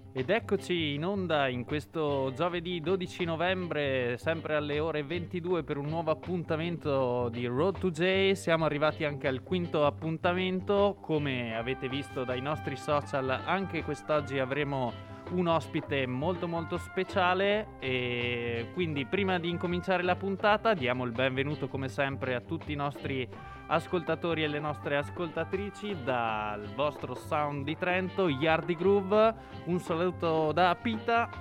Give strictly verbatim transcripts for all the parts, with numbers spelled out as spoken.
Ed eccoci in onda in questo giovedì dodici novembre, sempre alle ore ventidue, per un nuovo appuntamento di Road to J. Siamo arrivati anche al quinto appuntamento. Come avete visto dai nostri social, anche quest'oggi avremo un ospite molto molto speciale, e quindi prima di incominciare la puntata diamo il benvenuto come sempre a tutti i nostri ascoltatori e le nostre ascoltatrici dal vostro Sound di Trento, Yardi Groove. Un saluto da Pita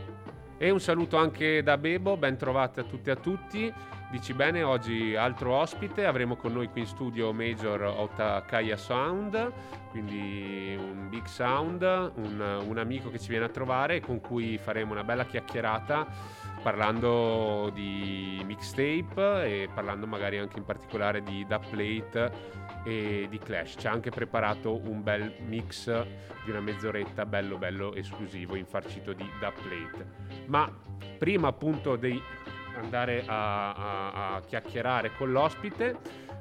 e un saluto anche da Bebo, ben trovati a tutti e a tutti. Dici bene, oggi altro ospite, avremo con noi qui in studio Major Otakaya Sound, quindi un big sound, un, un amico che ci viene a trovare e con cui faremo una bella chiacchierata parlando di mixtape e parlando magari anche in particolare di Dubplate e di Clash. Ci ha anche preparato un bel mix di una mezz'oretta bello bello esclusivo, infarcito di Dubplate. Ma prima appunto di andare a, a, a chiacchierare con l'ospite,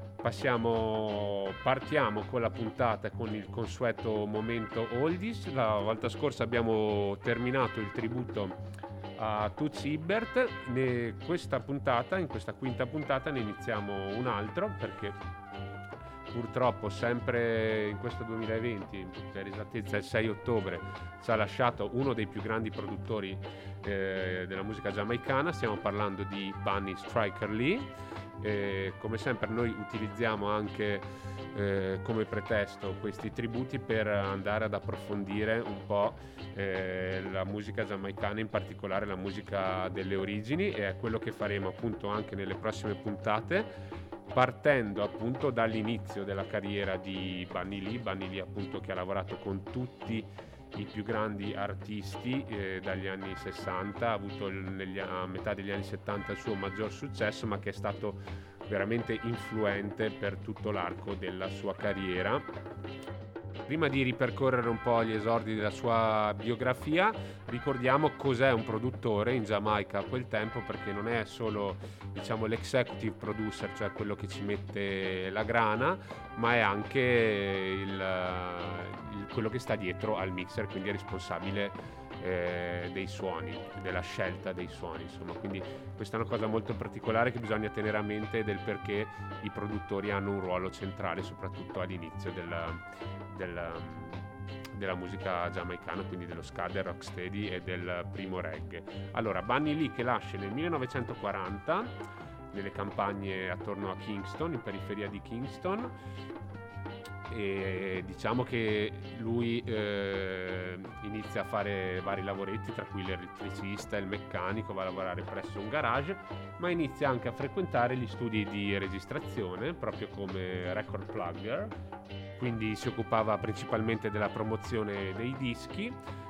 passiamo partiamo con la puntata, con il consueto momento oldies. La volta scorsa abbiamo terminato il tributo a Toots Hibbert. Ne, questa puntata, in questa quinta puntata, ne iniziamo un altro, perché purtroppo sempre in questo duemilaventi, per esattezza il sei ottobre, ci ha lasciato uno dei più grandi produttori eh, della musica giamaicana. Stiamo parlando di Bunny Striker Lee. Eh, come sempre noi utilizziamo anche eh, come pretesto questi tributi per andare ad approfondire un po' eh, la musica giamaicana, in particolare la musica delle origini, e è quello che faremo appunto anche nelle prossime puntate, partendo appunto dall'inizio della carriera di Bunny Lee. Bunny Lee appunto che ha lavorato con tutti i più grandi artisti eh, dagli anni sessanta, ha avuto il, negli, a metà degli anni settanta il suo maggior successo, ma che è stato veramente influente per tutto l'arco della sua carriera. Prima di ripercorrere un po' gli esordi della sua biografia, ricordiamo cos'è un produttore in Giamaica a quel tempo, perché non è solo, diciamo, l'executive producer, cioè quello che ci mette la grana, ma è anche il, il, quello che sta dietro al mixer, quindi è responsabile eh, dei suoni, della scelta dei suoni, insomma. Quindi questa è una cosa molto particolare che bisogna tenere a mente, del perché i produttori hanno un ruolo centrale, soprattutto all'inizio della, della, della musica giamaicana, quindi dello ska, del rocksteady e del primo reggae. Allora, Bunny Lee, che nasce nel millenovecentoquaranta nelle campagne attorno a Kingston, in periferia di Kingston, e diciamo che lui eh, inizia a fare vari lavoretti, tra cui l'elettricista e il meccanico, va a lavorare presso un garage, ma inizia anche a frequentare gli studi di registrazione proprio come record plugger, quindi si occupava principalmente della promozione dei dischi.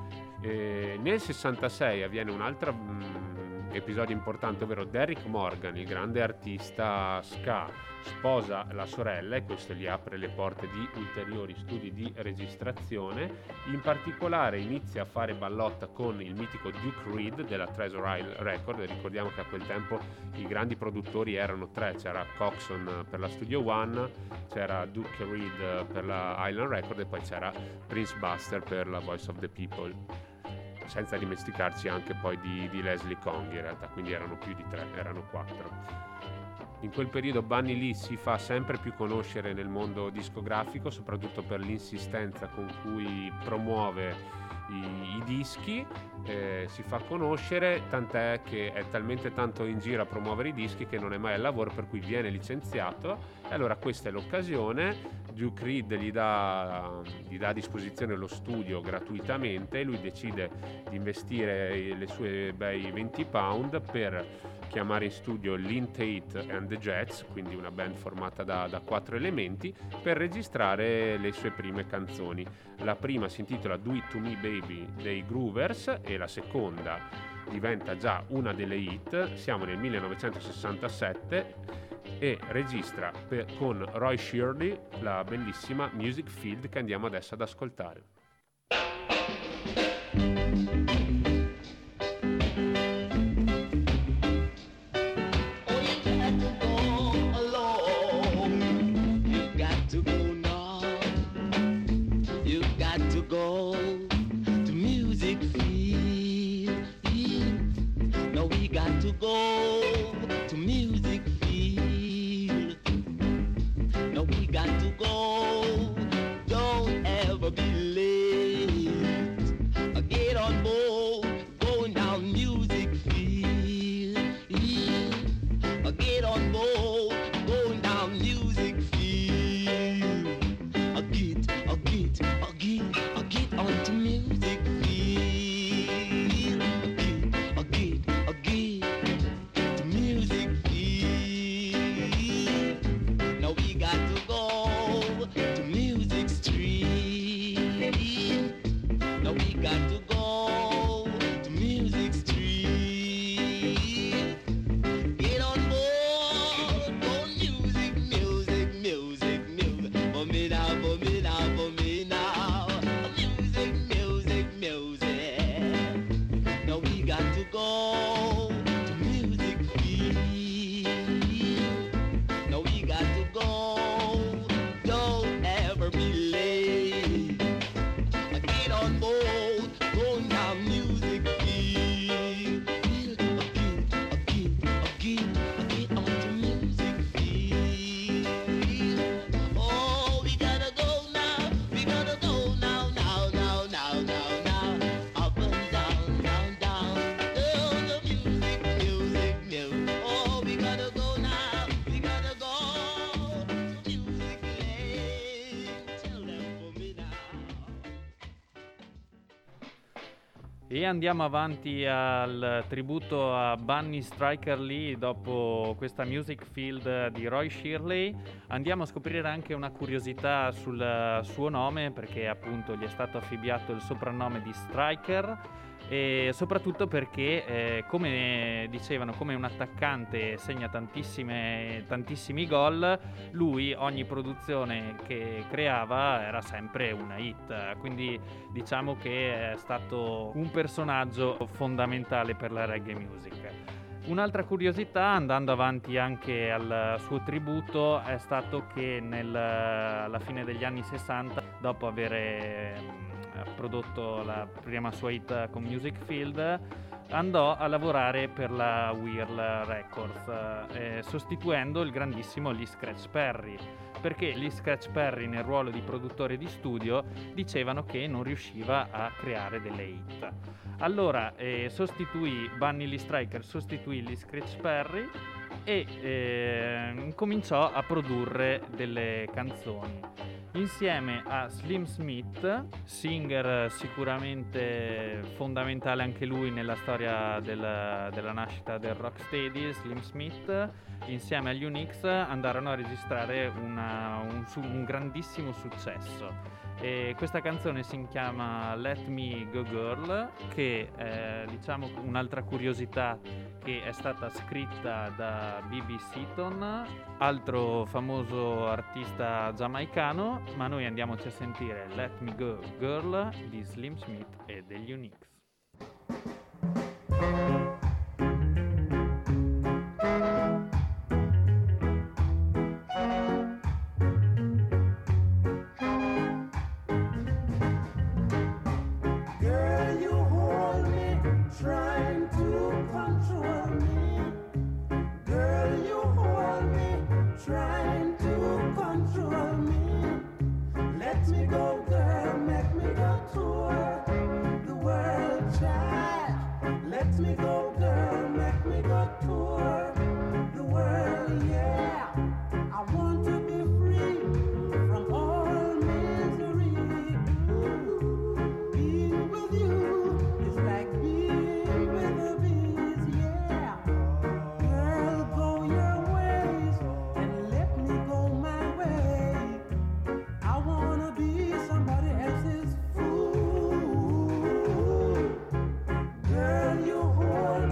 E nel sessantasei avviene un altro mh, episodio importante, ovvero Derrick Morgan, il grande artista ska, sposa la sorella, e questo gli apre le porte di ulteriori studi di registrazione. In particolare inizia a fare ballotta con il mitico Duke Reid della Treasure Isle Record. Ricordiamo che a quel tempo i grandi produttori erano tre: c'era Coxon per la Studio One, c'era Duke Reid per la Island Record e poi c'era Prince Buster per la Voice of the People, senza dimenticarci anche poi di, di Leslie Kong in realtà, quindi erano più di tre, erano quattro. In quel periodo Bunny Lee si fa sempre più conoscere nel mondo discografico, soprattutto per l'insistenza con cui promuove i, i dischi, eh, si fa conoscere, tant'è che è talmente tanto in giro a promuovere i dischi che non è mai al lavoro, per cui viene licenziato. E allora questa è l'occasione. Duke Reid gli dà, gli dà a disposizione lo studio gratuitamente, e lui decide di investire le sue bei venti pound per chiamare in studio Lynn Tate and the Jets, quindi una band formata da, da quattro elementi, per registrare le sue prime canzoni. La prima si intitola Do It To Me Baby dei Groovers e la seconda diventa già una delle hit. Siamo nel millenovecentosessantasette e registra per, con Roy Shirley la bellissima Music Field, che andiamo adesso ad ascoltare. Go to Music to go to music field. No, we got to go. Don't ever be late. Get on board, going down music field. Get on board, going down music field. Get, get, get, get onto music field. Get, get, get to music field. Now we got to go to music street. Now we got to go to music street. Get on board, go music, music, music, music. For me now, for me now, for me now. Music, music, music. Now we got to go to music field. Now we got to go. Don't ever be late. Get on board, going down music field. Again, again, again, get onto music field. Oh, we gotta go now, we gotta go now, now, now, now, now, now. Up and down, down, down. Oh, the music, music, music. Oh, we gotta go now, we gotta go to music lane. Tell them for me now. E andiamo avanti al tributo a Bunny Striker Lee dopo questa music field di Roy Shirley. Andiamo a scoprire anche una curiosità sul suo nome, perché appunto gli è stato affibbiato il soprannome di Striker, e soprattutto perché eh, come dicevano, come un attaccante segna tantissime, tantissimi gol, lui ogni produzione che creava era sempre una hit, quindi diciamo che è stato un personaggio fondamentale per la reggae music. Un'altra curiosità, andando avanti anche al suo tributo, è stato che nel, alla fine degli anni sessanta, dopo aver prodotto la prima sua hit con Music Field, andò a lavorare per la Whirl Records, eh, sostituendo il grandissimo Lee Scratch Perry, perché Lee Scratch Perry nel ruolo di produttore di studio dicevano che non riusciva a creare delle hit. Allora eh, sostituì Bunny Lee Striker, sostituì Lee Scratch Perry e eh, cominciò a produrre delle canzoni insieme a Slim Smith, singer sicuramente fondamentale anche lui nella storia del, della nascita del rocksteady. Slim Smith insieme agli Unix andarono a registrare una, un, un grandissimo successo. E questa canzone si chiama Let Me Go Girl, che è, diciamo, un'altra curiosità, che è stata scritta da B B Seaton, altro famoso artista giamaicano, ma noi andiamoci a sentire Let Me Go Girl di Slim Smith e degli Unix. Girl, you hold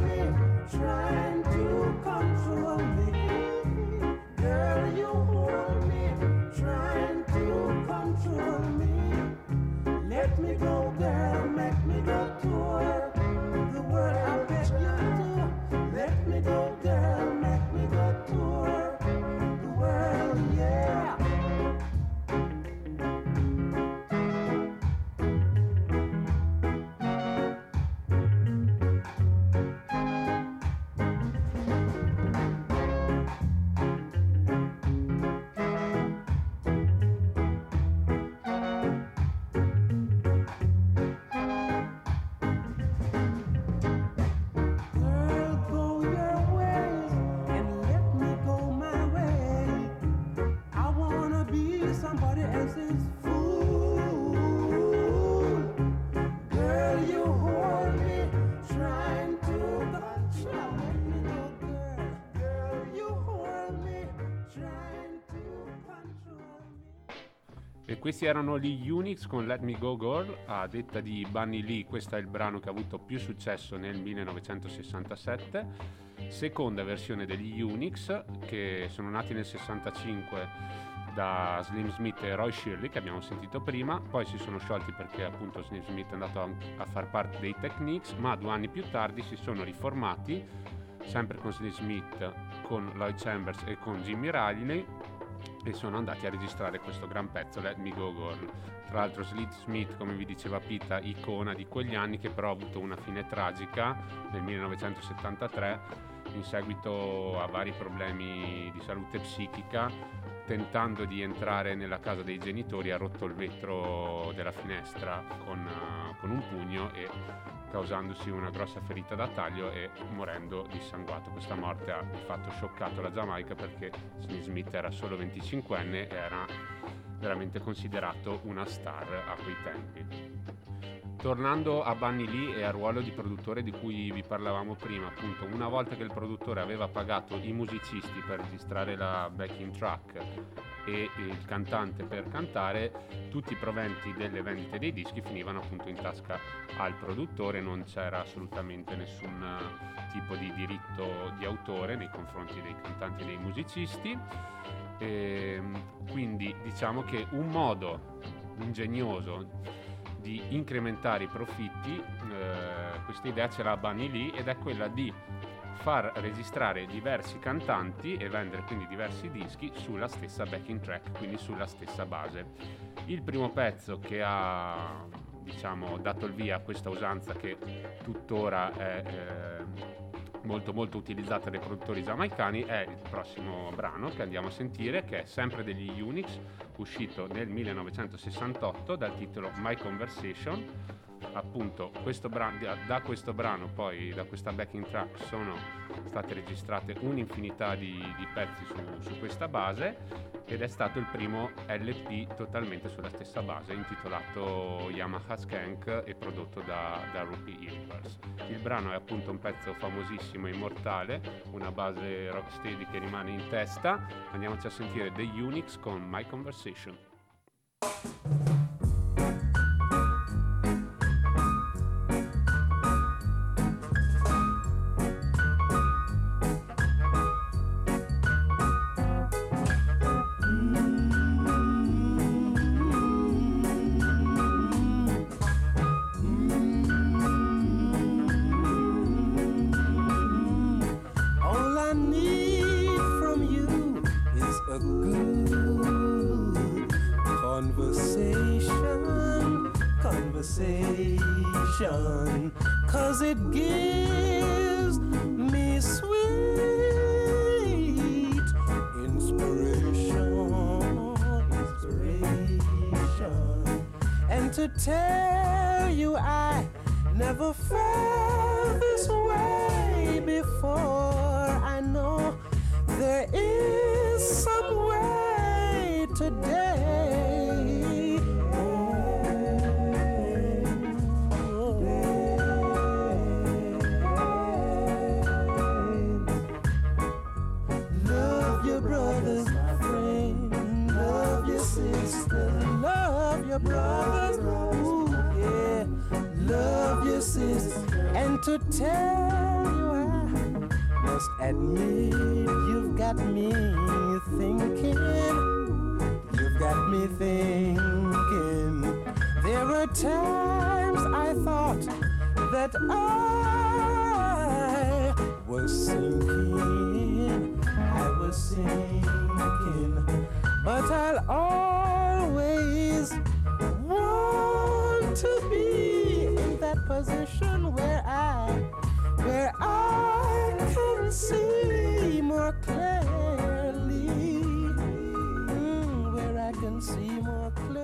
E questi erano gli Unix con Let Me Go Girl. A detta di Bunny Lee, questo è il brano che ha avuto più successo nel millenovecentosessantasette, seconda versione degli Unix, che sono nati nel sessantacinque da Slim Smith e Roy Shirley, che abbiamo sentito prima. Poi si sono sciolti perché appunto Slim Smith è andato a, a far parte dei Techniques, ma due anni più tardi si sono riformati, sempre con Slim Smith, con Lloyd Chambers e con Jimmy Riley, e sono andati a registrare questo gran pezzo, Let Me Go Girl. Tra l'altro Slim Smith, come vi diceva Pita, icona di quegli anni, che però ha avuto una fine tragica nel millenovecentosettantatré in seguito a vari problemi di salute psichica. Tentando di entrare nella casa dei genitori ha rotto il vetro della finestra con, uh, con un pugno, e causandosi una grossa ferita da taglio e morendo dissanguato. Questa morte ha di fatto scioccato la Giamaica, perché Slim Smith era solo venticinquenne e era veramente considerato una star a quei tempi. Tornando a Bunny Lee e al ruolo di produttore di cui vi parlavamo prima, appunto, una volta che il produttore aveva pagato i musicisti per registrare la backing track e il cantante per cantare, tutti i proventi delle vendite dei dischi finivano appunto in tasca al produttore. Non c'era assolutamente nessun tipo di diritto di autore nei confronti dei cantanti e dei musicisti, e quindi diciamo che un modo ingegnoso di incrementare i profitti, eh, questa idea ce l'ha Bunny Lee, ed è quella di far registrare diversi cantanti e vendere quindi diversi dischi sulla stessa backing track, quindi sulla stessa base. Il primo pezzo che ha, diciamo, dato il via a questa usanza, che tuttora è eh, molto molto utilizzata dai produttori giamaicani, è il prossimo brano che andiamo a sentire, che è sempre degli Unix, uscito nel millenovecentosessantotto dal titolo My Conversation. Appunto questo brano, da questo brano, poi da questa backing track, sono state registrate un'infinità di, di pezzi su, su questa base, ed è stato il primo L P totalmente sulla stessa base, intitolato Yamaha Skank e prodotto da, da Rupi Hilbers. Il brano è appunto un pezzo famosissimo e immortale, una base rocksteady che rimane in testa. Andiamoci a sentire The Unix con My Conversation. Cause it gives me sweet inspiration, inspiration. And to tell you I never felt this way before. I know there is some way today. Love your brothers, ooh, yeah. Love your sisters. And to tell you, I must admit, you've got me thinking. You've got me thinking. There were times I thought that I was sinking. I was sinking. But I'll always want to be in that position where I, where I can see more clearly, mm, where I can see more clearly.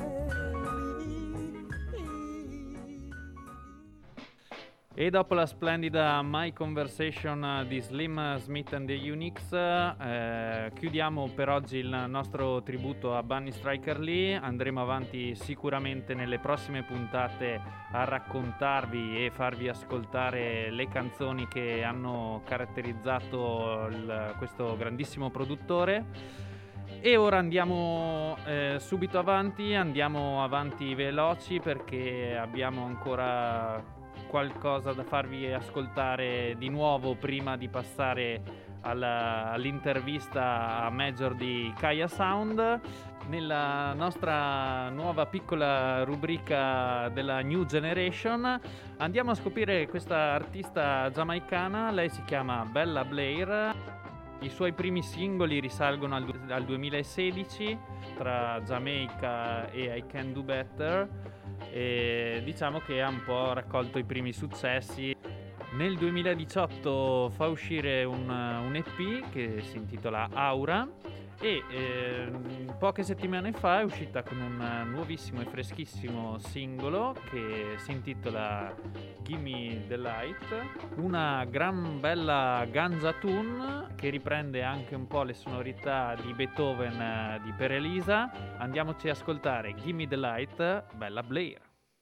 E dopo la splendida My Conversation di Slim Smith and the Unix, eh, chiudiamo per oggi il nostro tributo a Bunny Striker Lee. Andremo avanti sicuramente nelle prossime puntate a raccontarvi e farvi ascoltare le canzoni che hanno caratterizzato il, questo grandissimo produttore. E ora andiamo eh, subito avanti, andiamo avanti veloci perché abbiamo ancora qualcosa da farvi ascoltare di nuovo prima di passare alla, all'intervista a Major di Kaya Sound. Nella nostra nuova piccola rubrica della New Generation andiamo a scoprire questa artista giamaicana. Lei si chiama Bella Blair. I suoi primi singoli risalgono al, al duemilasedici tra Jamaica e I Can Do Better, e diciamo che ha un po' raccolto i primi successi. Nel duemiladiciotto fa uscire un, un E P che si intitola Aura e eh, poche settimane fa è uscita con un nuovissimo e freschissimo singolo che si intitola Gimme the Light, una gran bella ganja tune che riprende anche un po' le sonorità di Beethoven di Per Elisa. Andiamoci a ascoltare Gimme the Light, Bella Blair.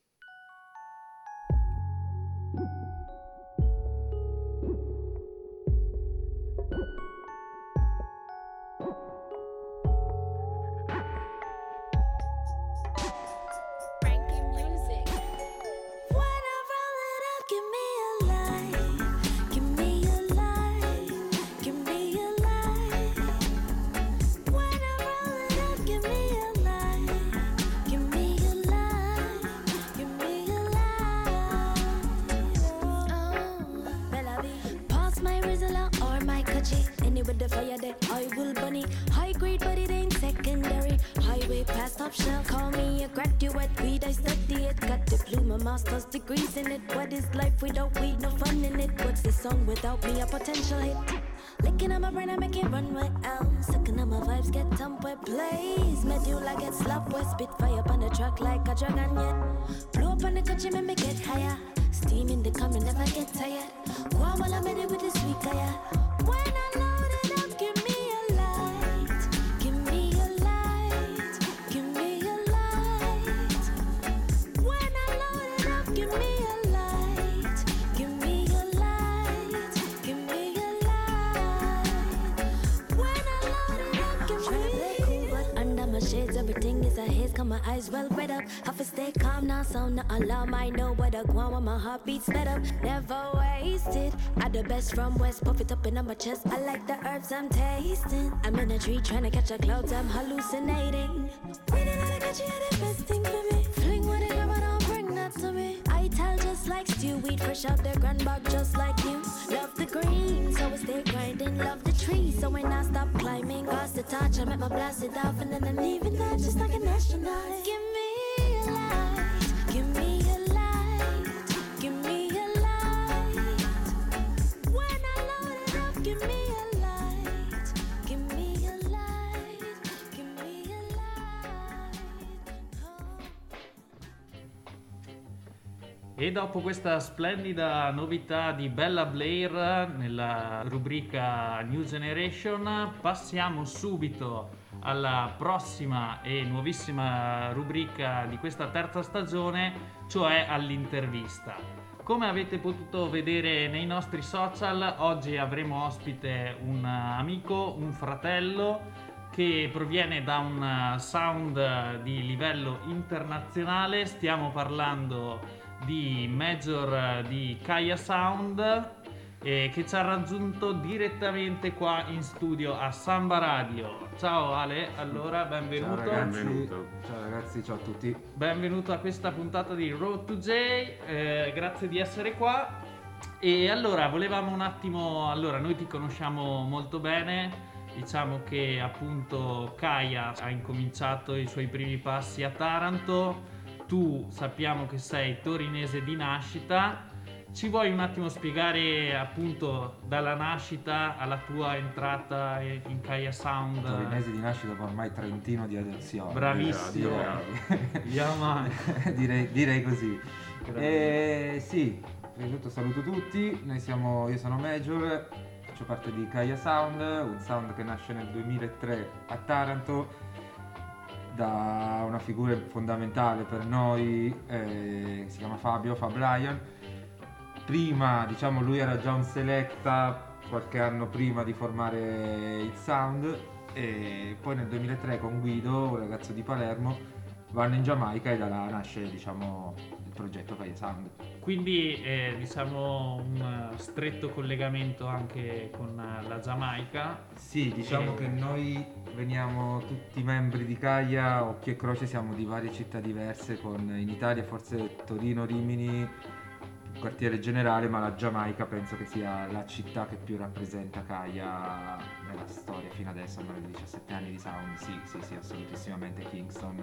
With the fire that I will bunny. High grade but it ain't secondary. Highway past top shelf. Call me a graduate, weed I study it. Got diploma, master's degrees in it. What is life without weed? No fun in it. What's the song without me? A potential hit. Licking on my brain, I make it run right out. Sucking on my vibes, get dump where plays. Medulla get slap where spit fire up on the track like a dragon yet. Blow up on the country, make me get higher. Steam in the coming, never get tired. Wow, while I'm in it with the sweet guy. When I load it up, give me a light. Give me a light. Give me a light. When I load it up, give me a light. Give me a light. Give me a light. When I load it up, give me a light. Cool, but under my shades, everything is a haze. Got my eyes well read up. Have to stay calm now, so no alarm. I know what I want when my heart beats sped up. Never wasted. I the best from West, puff it up in my chest. I like the herbs I'm tasting. I'm in a tree trying to catch a clouds, I'm hallucinating. Waiting on a catch you, the best thing for me. Fling with it, but don't bring that to me. I tell just like stew, weed fresh out the grand bag just like you. Love the green, so I stay grinding. Love the trees, so when I stop climbing, cause the touch, I make my blast it off, and then I'm leaving that just like an astronaut. Give me a light, give me a light, give me a light. When I load it up, give me a light, give me a light, give me a light. Oh. E dopo questa splendida novità di Bella Blair nella rubrica New Generation, passiamo subito alla prossima e nuovissima rubrica di questa terza stagione, cioè all'intervista. Come avete potuto vedere nei nostri social, oggi avremo ospite un amico, un fratello che proviene da un sound di livello internazionale. Stiamo parlando di Major di Kaya Sound, eh, che ci ha raggiunto direttamente qua in studio a Samba Radio. Ciao Ale, allora benvenuto. Ciao ragazzi, Benvenuto. ciao ragazzi, ciao a tutti. Benvenuto a questa puntata di Road to J, eh, grazie di essere qua. E allora volevamo un attimo, allora noi ti conosciamo molto bene, diciamo che appunto Kaya ha incominciato i suoi primi passi a Taranto, tu sappiamo che sei torinese di nascita. Ci vuoi un attimo spiegare appunto dalla nascita alla tua entrata in Kaya Sound? Torinese di nascita, ma ormai trentino di adozione. Bravissimo. Direi, Yeah, man. direi, direi così. E, sì, prima di tutto saluto tutti. Noi siamo, io sono Major, faccio parte di Kaya Sound, un sound che nasce nel duemilatré a Taranto da una figura fondamentale per noi, eh, che si chiama Fabio, Fab Lion. Prima, diciamo, lui era già un selecta qualche anno prima di formare il sound, e poi nel duemilatré con Guido, un ragazzo di Palermo, vanno in Giamaica e da là nasce, diciamo, il progetto Kaya Sound. Quindi eh, diciamo un stretto collegamento anche con la Giamaica. Sì, diciamo E- che noi veniamo tutti membri di Kaya, occhio e croce, siamo di varie città diverse, con in Italia forse Torino, Rimini, quartiere generale, ma la Giamaica penso che sia la città che più rappresenta Kaya nella storia fino adesso, almeno di diciassette anni di sound. Sì, sì, sì, assolutissimamente. Kingston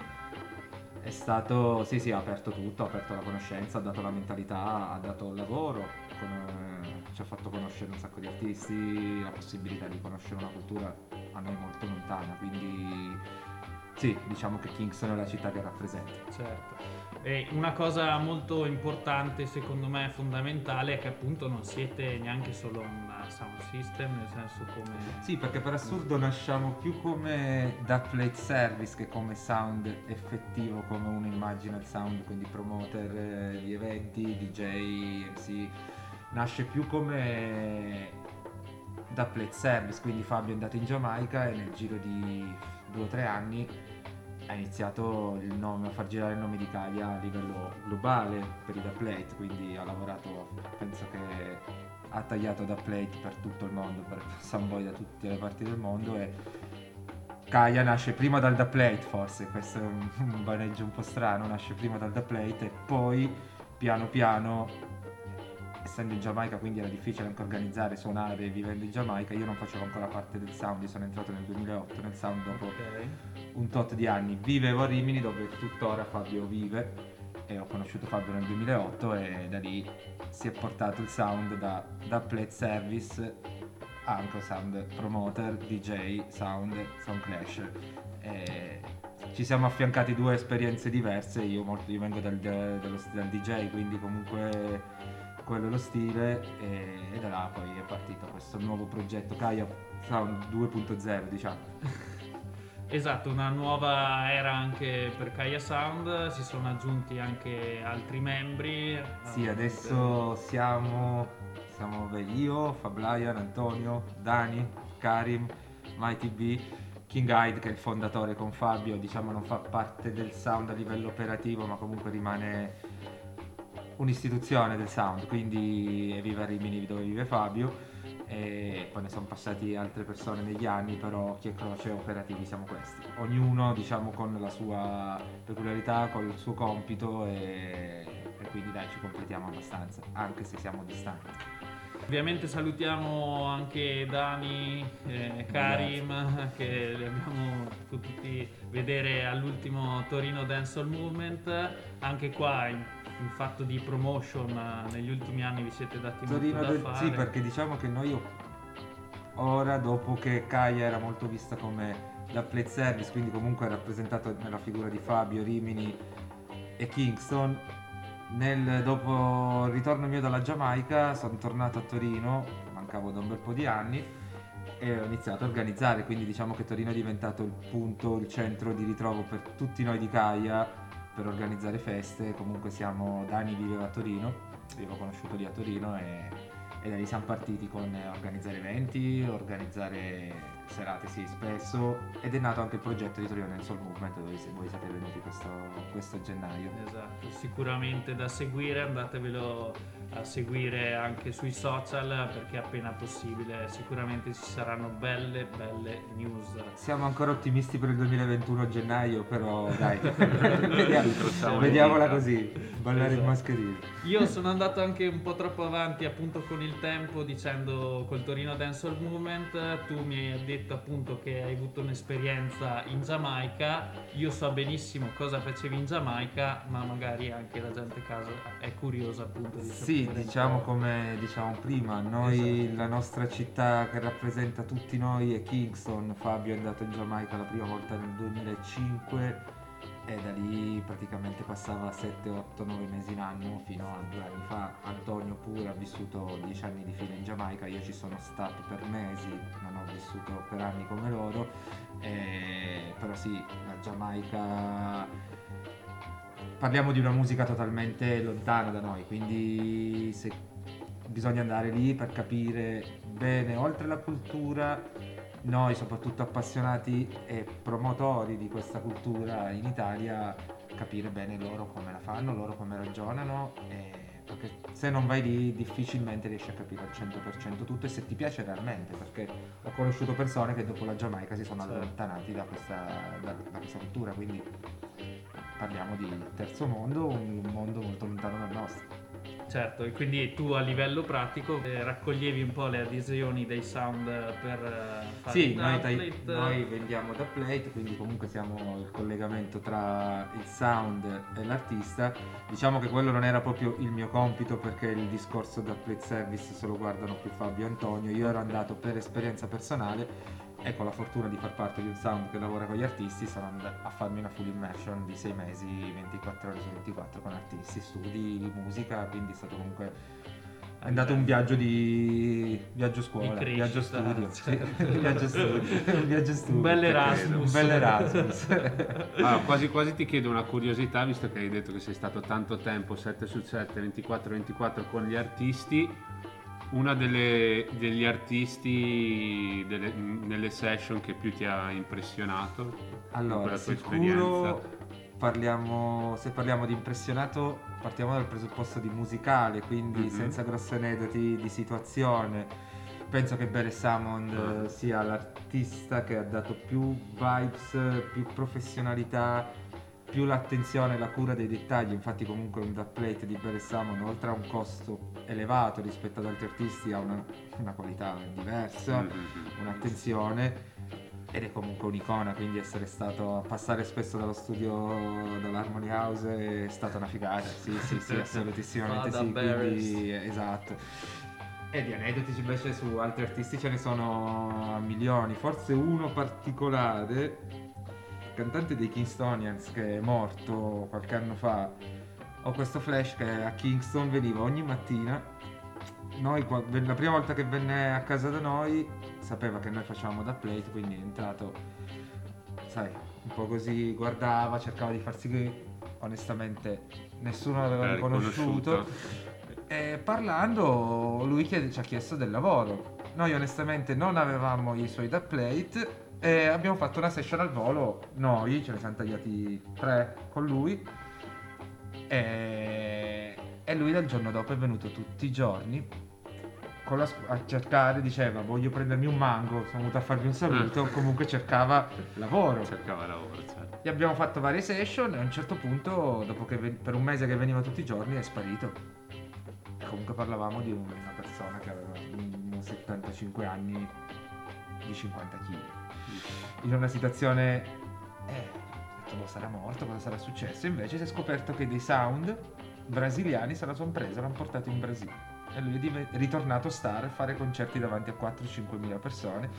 eh, è stato, sì, sì, ha aperto tutto, ha aperto la conoscenza, ha dato la mentalità, ha dato il lavoro, con, eh, ci ha fatto conoscere un sacco di artisti, la possibilità di conoscere una cultura a noi molto lontana, quindi sì, diciamo che Kingston è la città che rappresenta. Certo. E una cosa molto importante, secondo me fondamentale, è che appunto non siete neanche solo un sound system, nel senso come... Sì, perché per assurdo nasciamo più come da plate service che come sound effettivo, come uno immagina il sound, quindi promoter eh, di eventi, D J, M C. Nasce più come da plate service, quindi Fabio è andato in Giamaica e nel giro di due o tre anni ha iniziato il nome, a far girare il nome di Kaya a livello globale per i da plate, quindi ha lavorato, penso che ha tagliato da plate per tutto il mondo, per soundboy da tutte le parti del mondo, e Kaya nasce prima dal da plate, forse questo è un, un baneggio un po' strano, nasce prima dal da plate e poi piano piano, essendo in Giamaica quindi era difficile anche organizzare, suonare vivendo in Giamaica. Io non facevo ancora parte del sound, io sono entrato nel duemilaotto nel sound dopo Ok. un tot di anni. Vivevo a Rimini dove tuttora Fabio vive e ho conosciuto Fabio nel duemilaotto e da lì si è portato il sound da, da plate service a anche sound promoter, D J, sound, sound clash. E ci siamo affiancati due esperienze diverse, io, molto, io vengo dal, dallo, dal D J, quindi comunque quello è lo stile, e, e da là poi è partito questo nuovo progetto Kaya Sound due punto zero, diciamo. Esatto, una nuova era anche per Kaya Sound, si sono aggiunti anche altri membri. Sì, eh, adesso siamo, siamo beh, io, Fablian, Antonio, Dani, Karim, Mighty B, King Hyde che è il fondatore con Fabio, diciamo non fa parte del sound a livello operativo, ma comunque rimane un'istituzione del sound, quindi vive a Rimini dove vive Fabio, e poi ne sono passati altre persone negli anni, però chi è croce operativi siamo questi, ognuno diciamo con la sua peculiarità, con il suo compito, e, e quindi dai, ci completiamo abbastanza anche se siamo distanti. Ovviamente salutiamo anche Dani, eh, Karim, che li abbiamo potuti vedere all'ultimo Torino Dancehall Movement. Anche qua in, in fatto di promotion eh, negli ultimi anni vi siete dati Torino molto da del- fare. sì, perché diciamo che noi ora, dopo che Kaya era molto vista come la plate service, quindi comunque rappresentato nella figura di Fabio, Rimini e Kingston, nel, dopo il ritorno mio dalla Giamaica sono tornato a Torino, mancavo da un bel po' di anni, e ho iniziato a organizzare, quindi diciamo che Torino è diventato il punto, il centro di ritrovo per tutti noi di Kaya per organizzare feste. Comunque siamo, Dani viveva a Torino, io l'ho conosciuto lì a Torino, e, e da lì siamo partiti con eh, organizzare eventi, organizzare serate sì spesso, ed è nato anche il progetto di Torino Dancehall Movement dove se- voi siete venuti questo, questo gennaio. Esatto, sicuramente da seguire, andatevelo a seguire anche sui social perché appena possibile sicuramente ci saranno belle belle news. Siamo ancora ottimisti per il duemilaventuno a gennaio, però dai, vediamo, Incrociamo le vediamola dita. così, ballare Esatto. in mascherine. Io sono andato anche un po' troppo avanti appunto con il tempo dicendo col Torino Dancehall Movement, tu mi hai detto appunto che hai avuto un'esperienza in Giamaica, io so benissimo cosa facevi in Giamaica, ma magari anche la gente a casa è curiosa appunto di Sì, sapere un diciamo po'. come diciamo prima, noi Esatto. la nostra città che rappresenta tutti noi è Kingston. Fabio è andato in Giamaica la prima volta nel duemilacinque e da lì praticamente passava sette, otto, nove mesi in anno fino a due anni fa. Antonio pure ha vissuto dieci anni di fila in Giamaica, io ci sono stato per mesi, non ho vissuto per anni come loro, eh, però sì, la Giamaica... Parliamo di una musica totalmente lontana da noi, quindi se bisogna andare lì per capire bene, oltre la cultura, noi, soprattutto appassionati e promotori di questa cultura in Italia, capire bene loro come la fanno, loro come ragionano, e perché se non vai lì difficilmente riesci a capire al cento per cento tutto, e se ti piace realmente, perché ho conosciuto persone che dopo la Giamaica si sono Certo. allontanati da questa, da, da questa cultura, quindi parliamo di terzo mondo, un mondo molto lontano dal nostro. Certo, e quindi tu a livello pratico eh, raccoglievi un po' le adesioni dei sound per eh, fare Sì, il noi, dai- dubplate. noi vendiamo da Plate, quindi comunque siamo il collegamento tra il sound e l'artista. Diciamo che quello non era proprio il mio compito, perché il discorso da Plate Service se lo guardano più Fabio e Antonio. Io ero andato per esperienza personale e con la fortuna di far parte di un sound che lavora con gli artisti sono andato a farmi una full immersion di sei mesi, ventiquattro ore su ventiquattro con artisti, studi, musica, quindi è stato comunque è andato un viaggio di viaggio scuola, Di viaggio crescita, studio, certo. sì, viaggio studio, un viaggio studio. Un bel Te credo, Erasmus. un bel Erasmus. Allora, quasi quasi ti chiedo una curiosità, visto che hai detto che sei stato tanto tempo, sette su sette, ventiquattro ventiquattro con gli artisti. Una delle, degli artisti delle, nelle session che più ti ha impressionato in Allora, quella tua sicuro esperienza? parliamo, se parliamo di impressionato, partiamo dal presupposto di musicale, quindi Mhm. senza grossi aneddoti di situazione. Penso che Bere Samond Ah. eh, sia l'artista che ha dato più vibes, più professionalità, più l'attenzione e la cura dei dettagli. Infatti comunque un dubplate di Bere Samond, oltre a un costo elevato rispetto ad altri artisti, ha una, una qualità diversa, Mhm. un'attenzione, ed è comunque un'icona, quindi essere stato, passare spesso dallo studio dell'Harmony House è stata una figata. Sì, sì, sì, assolutissimamente Vada sì, Barris. quindi esatto. E di aneddoti invece su altri artisti ce ne sono a milioni, forse uno particolare, il cantante dei Kingstonians che è morto qualche anno fa. Ho questo flash che a Kingston veniva ogni mattina. Noi, qua- la prima volta che venne a casa da noi, sapeva che noi facevamo da plate, quindi è entrato, sai, un po' così, guardava, cercava di farsi che onestamente nessuno l'aveva Era riconosciuto. riconosciuto. E parlando, lui chiede- ci ha chiesto del lavoro. Noi onestamente non avevamo i suoi da plate e abbiamo fatto una session al volo. Noi ce ne siamo tagliati tre con lui. E, e lui dal giorno dopo è venuto tutti i giorni con la scu- a cercare, diceva voglio prendermi un mango, sono venuto a farvi un saluto. Comunque cercava lavoro. Cercava lavoro, certo. Gli abbiamo fatto varie session e a un certo punto, dopo che ven- per un mese che veniva tutti i giorni, è sparito. E comunque parlavamo di una persona che aveva mm, settantacinque anni, di cinquanta chili. In una situazione, eh, ho detto, boh, sarà morto, cosa sarà successo? Invece si è scoperto che dei sound brasiliani se la sono presa, l'hanno portato in Brasile. E lui è div- è ritornato star a fare concerti davanti a quattro-cinque mila persone.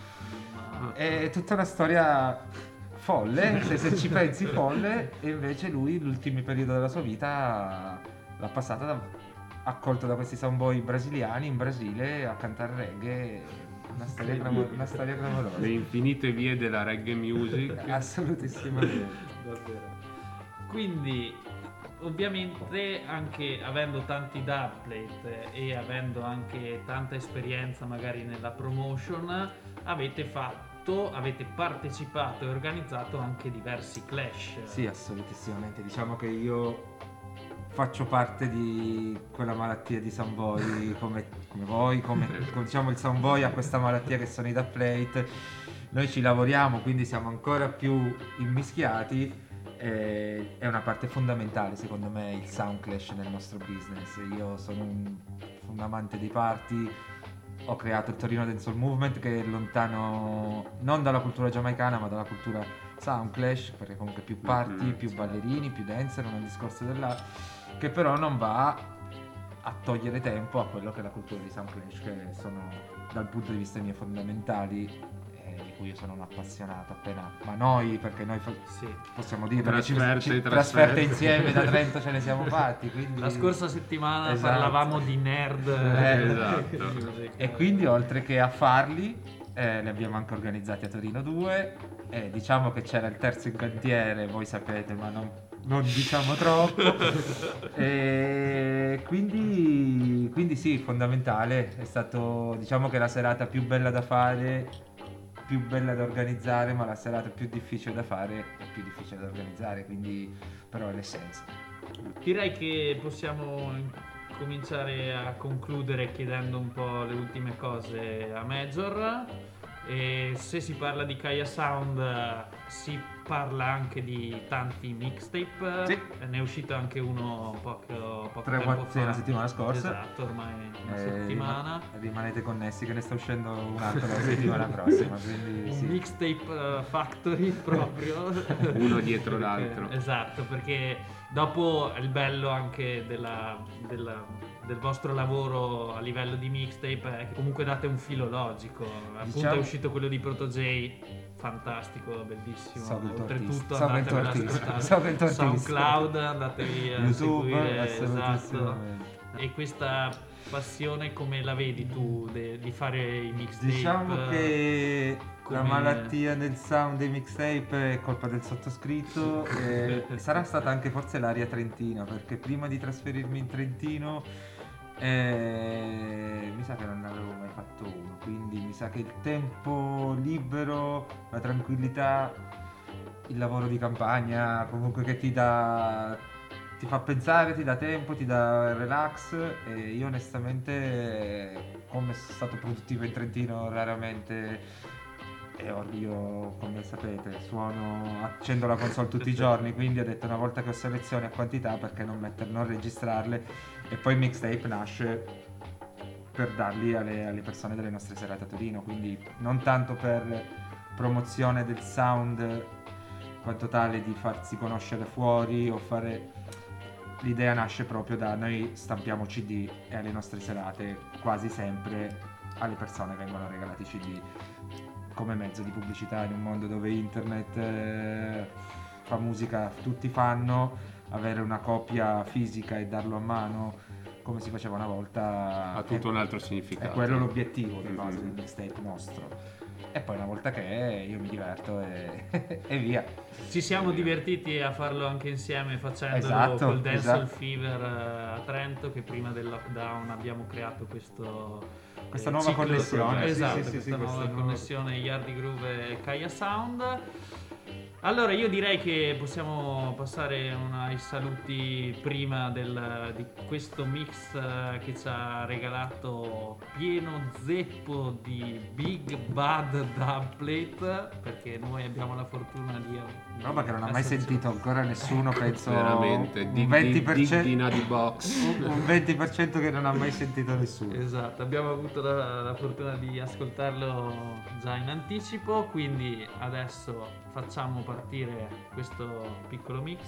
È tutta una storia folle, se, se ci pensi folle, e invece lui l'ultimo periodo della sua vita l'ha passata da, accolto da questi soundboy brasiliani in Brasile a cantare reggae, una storia, clamor- una storia clamorosa. Le infinite vie della reggae music. Assolutissimamente. Davvero. Quindi, ovviamente, anche avendo tanti dubplate e avendo anche tanta esperienza magari nella promotion, avete fatto, avete partecipato e organizzato anche diversi clash. Sì, assolutissimamente. Diciamo che io faccio parte di quella malattia di soundboy come, come voi, come, come diciamo il soundboy ha questa malattia che sono i dubplate. Noi ci lavoriamo, quindi siamo ancora più immischiati. Eh, è una parte fondamentale secondo me il sound clash nel nostro business. Io sono un, un amante dei party, ho creato il Torino Dancehall Movement che è lontano non dalla cultura giamaicana ma dalla cultura sound clash, perché comunque più party, Mhm. più ballerini, più dancer, non è un discorso della che però non va a togliere tempo a quello che è la cultura di sound clash, che sono dal punto di vista mio fondamentali, di cui io sono un appassionato appena, ma noi, perché noi fa- Sì. possiamo dire perché ci- Trasferte, ci- trasferte. trasferte insieme da Trento ce ne siamo fatti, quindi... La scorsa settimana Esatto. parlavamo di nerd. Eh, esatto. music. E quindi oltre che a farli eh, ne abbiamo anche organizzati a Torino due, e diciamo che c'era il terzo in cantiere, voi sapete, ma non, non diciamo troppo. E quindi, quindi sì, fondamentale, è stato, diciamo che la serata più bella da fare più bella da organizzare, ma la serata più difficile da fare è più difficile da organizzare, quindi però è l'essenza. Direi che possiamo cominciare a concludere chiedendo un po' le ultime cose a Major. E se si parla di Kaya Sound si parla anche di tanti mixtape. Sì. Ne è uscito anche uno poco, poco Tre, tempo quattro, sì, fa. la settimana scorsa. Esatto, ormai una Eh, settimana. rima- rimanete connessi che ne sta uscendo un altro la settimana prossima, quindi Un sì. mixtape uh, factory proprio. Uno dietro Perché- l'altro. Esatto, perché dopo il bello anche della, della- del vostro lavoro a livello di mixtape è che comunque date un filo logico. Appunto Diciamo- è uscito quello di Proto J, fantastico, bellissimo. So che il tuo Oltretutto artista. So che il tuo andatevelo ad artista. ascoltare. So che il tuo artista. SoundCloud, andatevi a YouTube, seguire, esatto. assolutissimamente. E questa passione come la vedi tu de- di fare i mixtape? Diciamo che la come- malattia del sound dei mixtape è colpa del sottoscritto e sarà stata anche forse l'aria trentina, perché prima di trasferirmi in Trentino eh, mi sa che non ne avevo mai fatto uno, quindi mi sa che il tempo libero, la tranquillità, il lavoro di campagna comunque che ti dà, ti fa pensare, ti dà tempo, ti dà relax, e io onestamente, come sono stato produttivo in Trentino raramente, e or- io come sapete suono, accendo la console tutti i giorni, quindi ho detto una volta che ho selezione a quantità perché non, metter, non registrarle, e poi il mixtape nasce per darli alle, alle persone delle nostre serate a Torino, quindi non tanto per promozione del sound quanto tale di farsi conoscere fuori o fare. L'idea nasce proprio da noi stampiamo C D e alle nostre serate quasi sempre alle persone vengono regalati C D come mezzo di pubblicità in un mondo dove internet eh, fa musica, tutti fanno, avere una copia fisica e darlo a mano come si faceva una volta Ha tutto è- un altro significato. è quello l'obiettivo di Mhm. base del mixtape nostro. E poi una volta che è, io mi diverto e, e via. Ci siamo divertiti a farlo anche insieme facendolo Esatto, col Dancehall esatto. Fever eh, a Trento, che prima del lockdown abbiamo creato questo Questa eh, nuova ciclo- connessione, sì, esatto, sì, sì, questa sì, nuova questa nuova- connessione Yardi Groove e Kaya Sound. Allora io direi che possiamo passare una- ai saluti prima del- di questo mix eh, che ci ha regalato pieno zeppo di Big Bad Dubplate, perché noi abbiamo la fortuna di Roba che non ha mai esserci- sentito ancora nessuno, penso Veramente, un dig, venti dig, per dig cento di Nadi Box. un venti per cento che non ha mai sentito nessuno. Esatto, abbiamo avuto la, la fortuna di ascoltarlo già in anticipo, quindi adesso facciamo partire questo piccolo mix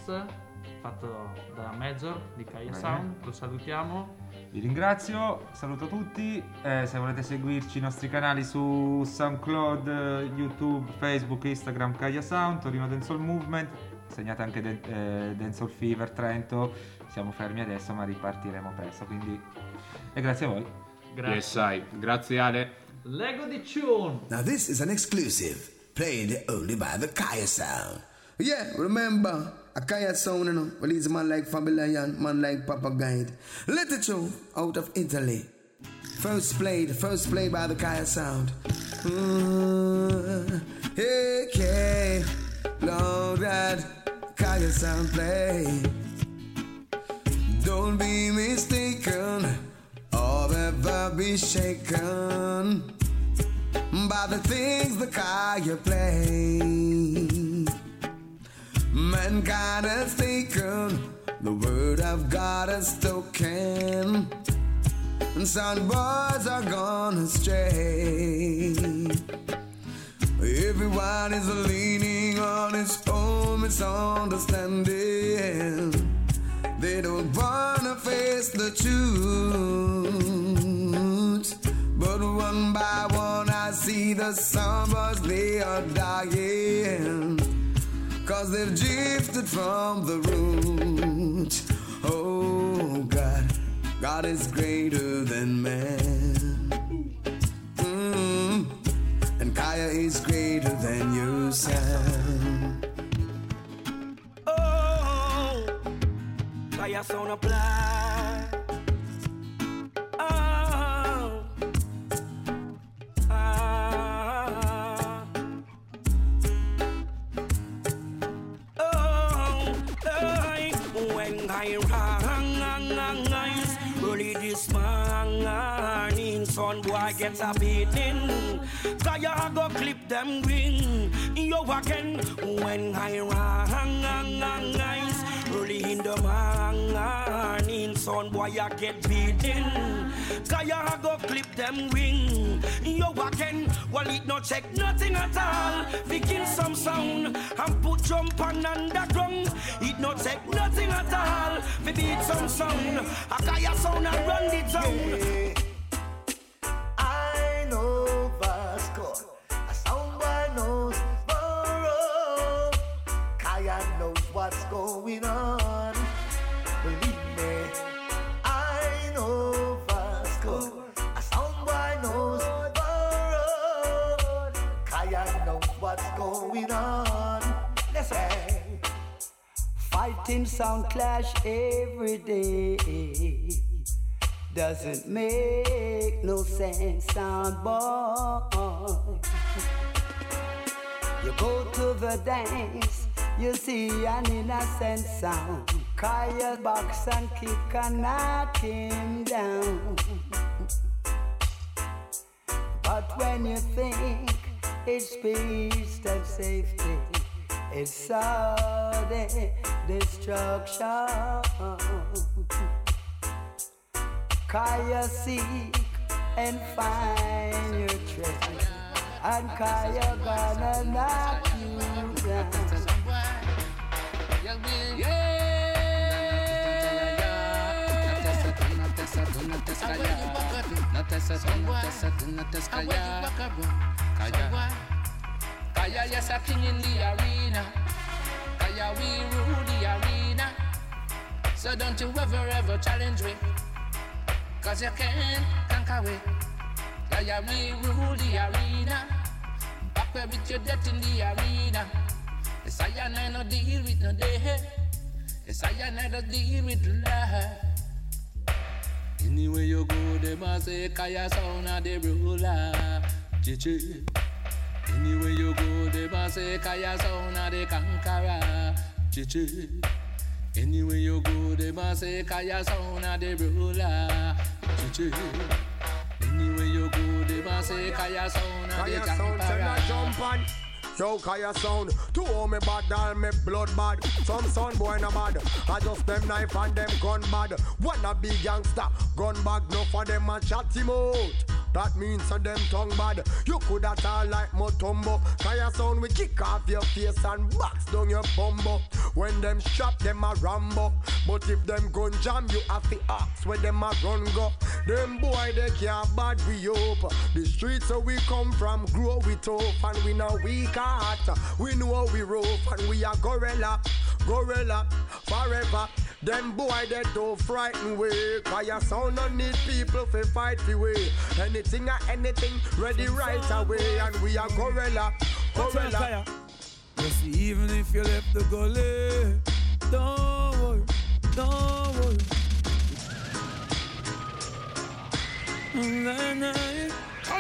fatto da Major di Kaya Bene. Sound, lo salutiamo. Vi ringrazio, saluto tutti, eh, se volete seguirci i nostri canali su SoundCloud, eh, YouTube, Facebook, Instagram, Kaya Sound, Torino Dancehall Movement, segnate anche Dan- eh, Dancehall Fever Trento, siamo fermi adesso ma ripartiremo presto, quindi e grazie a voi. Grazie. Yes, sai. Grazie Ale. Lego di Tune. Now this is an exclusive, played only by the Kaya Sound. Yeah, remember, a Kaya Sound, you know, well, he's a man like Fabian, man like Papa Guide. Let it show out of Italy. First played, first played by the Kaya Sound. Mm, okay, Lord, that Kaya Sound play. Don't be mistaken or ever be shaken by the things the Kaya play. Mankind has taken the word of God as token, and some boys are gone astray. Everyone is leaning on his own misunderstanding. They don't wanna face the truth, but one by one I see the suburbs, they are dying, 'cause they've drifted from the root. Oh God, God is greater than man. Mm. And Kaya is greater than your sound. Oh, Kaya Sound apply. Oh, ah, warning. Son boy get a beating. Kaya go clip them green. Yo again when I rise early in the morning. Son boy I get beaten. Kaya go clip them wing. Yo again, well it no check nothing at all. We kill some sound and put jump on underground. It no check nothing at all. We beat some sound. A Kaya sound and run the town. Yeah. I know Vasco. A sound boy knows Burrow. Kaya knows what's going on. Believe me, I know Vasco. A sound boy knows Burrow. Kaya knows what's going on. Listen. Fighting sound clash every day doesn't make no sense, sound boy. You go to the dance, you see an innocent sound. Kaya box and kick and knock him down. But when you think it's peace and safety, it's sudden destruction. Kaya seek and find your treasure, and Kaya gonna knock you down. Kaya yes a king in the arena. Kaya we rule the arena. So don't you ever ever challenge me, cause you can't conquer me. Kaya we rule the arena. Back where with your death in the arena. Yes I and I no deal with no day. Yes I and I no deal with love. Anywhere you go they must say Kaya sound a the ruler. Chichi. Anywhere you go, they must say Kaya sound a the conqueror. Chichi. Anywhere you go, they must say Kaya sound a the ruler. Chichi. Anywhere you go, they must say Kaya sound a the conqueror. Yo, Kaya sound, to all me bad, all me blood bad. Some son boy na mad, I just them knife and them gun bad. Wanna be gangster, gun bag, no for them a chat him out. That means a them tongue bad. You could have all like Motombo. Kaya sound we kick off your face and box down your bumbo. When them shot them a Rambo. But if them gun jam you have to ask where them a run go. Them boy they can't bad we up. The streets where we come from grow we tough and we know we cat. We know we rough and we are gorilla. Gorilla forever. Them boy they don't frighten way. Kaya sound no need people to fight for way. Anything or anything ready right away. And we are gorilla. Gorilla. You see, even if you left the gully, don't worry, don't worry. Nah, nah.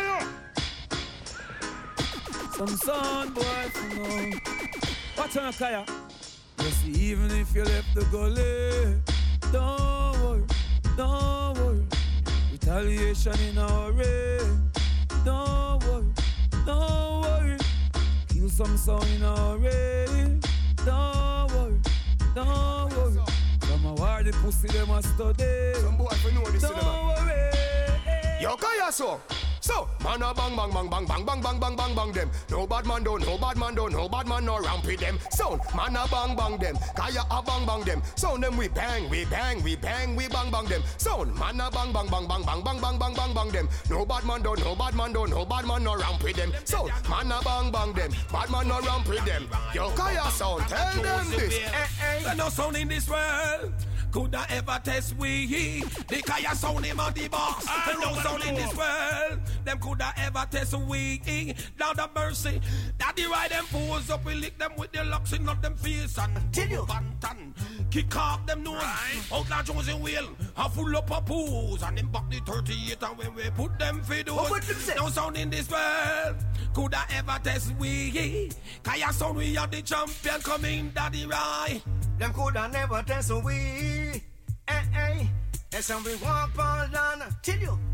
Some son boy from home. Watch on Kaya. You see, even if you left the gully, don't worry, don't worry. Retaliation in our way. Don't worry, don't worry. Kill some sound in our way. Don't worry, don't worry. Some a war the pussy them a study. Some boy for know this. Don't worry. Yo, Kaya so. So, man a bang bang bang bang bang bang bang bang bang bang them. No bad man do, no bad man do, no bad man no ramp with them. Sound, man a bang bang them. Kaya a bang bang them. Sound them we bang, we bang, we bang, we bang bang them. Sound, man a bang bang bang bang bang bang bang bang bang bang them. No bad man do, no bad man do, no bad man no ramp with them. Sound, man a bang bang them. Bad man no ramp with them. Yo, Kaya sound, tell them this. There's no sound in this world could I ever test we. The Kaya sound him on the box. There's no sound in this world them could I ever test we. Now the mercy that the right them pose up, we lick them with the locks in up them face and tell you bantan. Kick off them nose. Outlaw Jones and Wheel are full up of pools and them back the thirty-eight and when we put them feed those. No sound in this world could I ever test we. Kaya sound we are the champion coming daddy right. Them coulda never test we. Eh eh. That's how we walk on down. Tell you,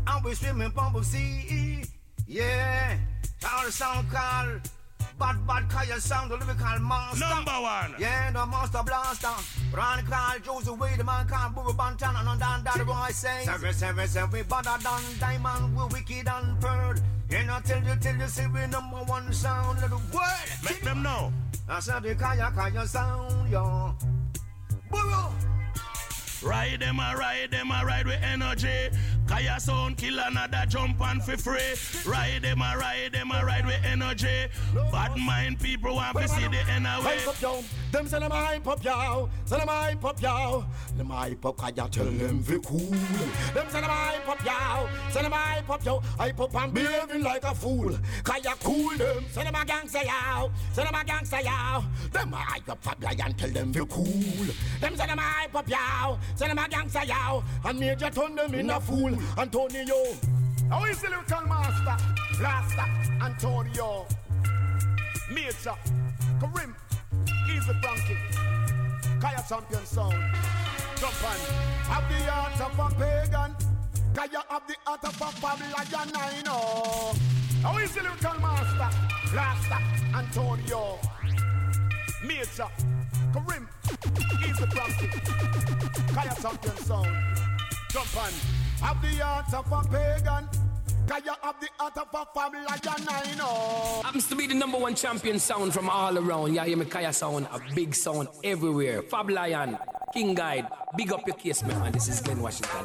and we swimming from the sea. Yeah, all the sound called Bad Bad Kaya Sound, the lyrical monster. Number one. Yeah, the monster blaster. Ron called Josie Way, the man called Boo Bantan, and down that boy say. Seven, seven, seven, better than Diamond, we wicked and pearl. And I tell you, tell you, say we number one sound of the world. Make them know. I said the Kaya Kaya Sound, yo. Burro. Ride them, I ride them, I ride with energy. Kaya Sound kill another jump and for free. Ride them, I ride them, I ride with energy. Bad mind people want to see the end away. Hype up, yo. Them say them hype up, yo. Say them hype up, yo. Them hype up, Kaya tell them fi cool. Them say them hype up, yo. Say them hype up, yo. Hype up and behaving like a fool. Kaya cool them. Say them a gangster, yo. Say them a gangster, yo. Them hype up, Fabia and tell them fi cool. Them say them hype up, yo. Say them a gangster, yo. And Major turn them in a fool. Antonio. How is the little master? Blaster, Antonio. Major, Karim, Easy Frankie, Kaya Champion Sound. Jump on. Have the heart of a pagan. Kaya have the heart of a Babylon, I know. How is the little master? Blaster, Antonio. Major, Karim, Easy Frankie, Kaya Champion Sound. Jump on. Have the heart of a pagan. Kaya have the heart of a family, I know. Happens to be the number one champion sound from all around. Yeah, hear me, Kaya Sound, a big sound everywhere. Fab Lion, King Guide, big up your case, man. This is Glenn Washington.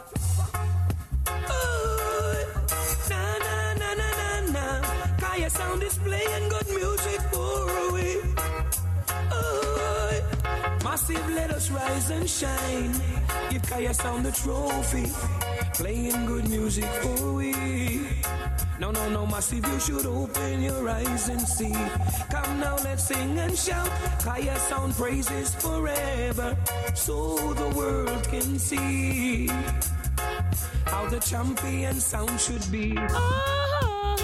Oh, na na na na na na. Kaya Sound is playing good music for we. Oh, massive, let us rise and shine. Give Kaya Sound the trophy. Playing good music for we. No, no, no, Massive, you should open your eyes and see. Come now, let's sing and shout. Kaya Sound praises forever, so the world can see how the champion sound should be. Oh,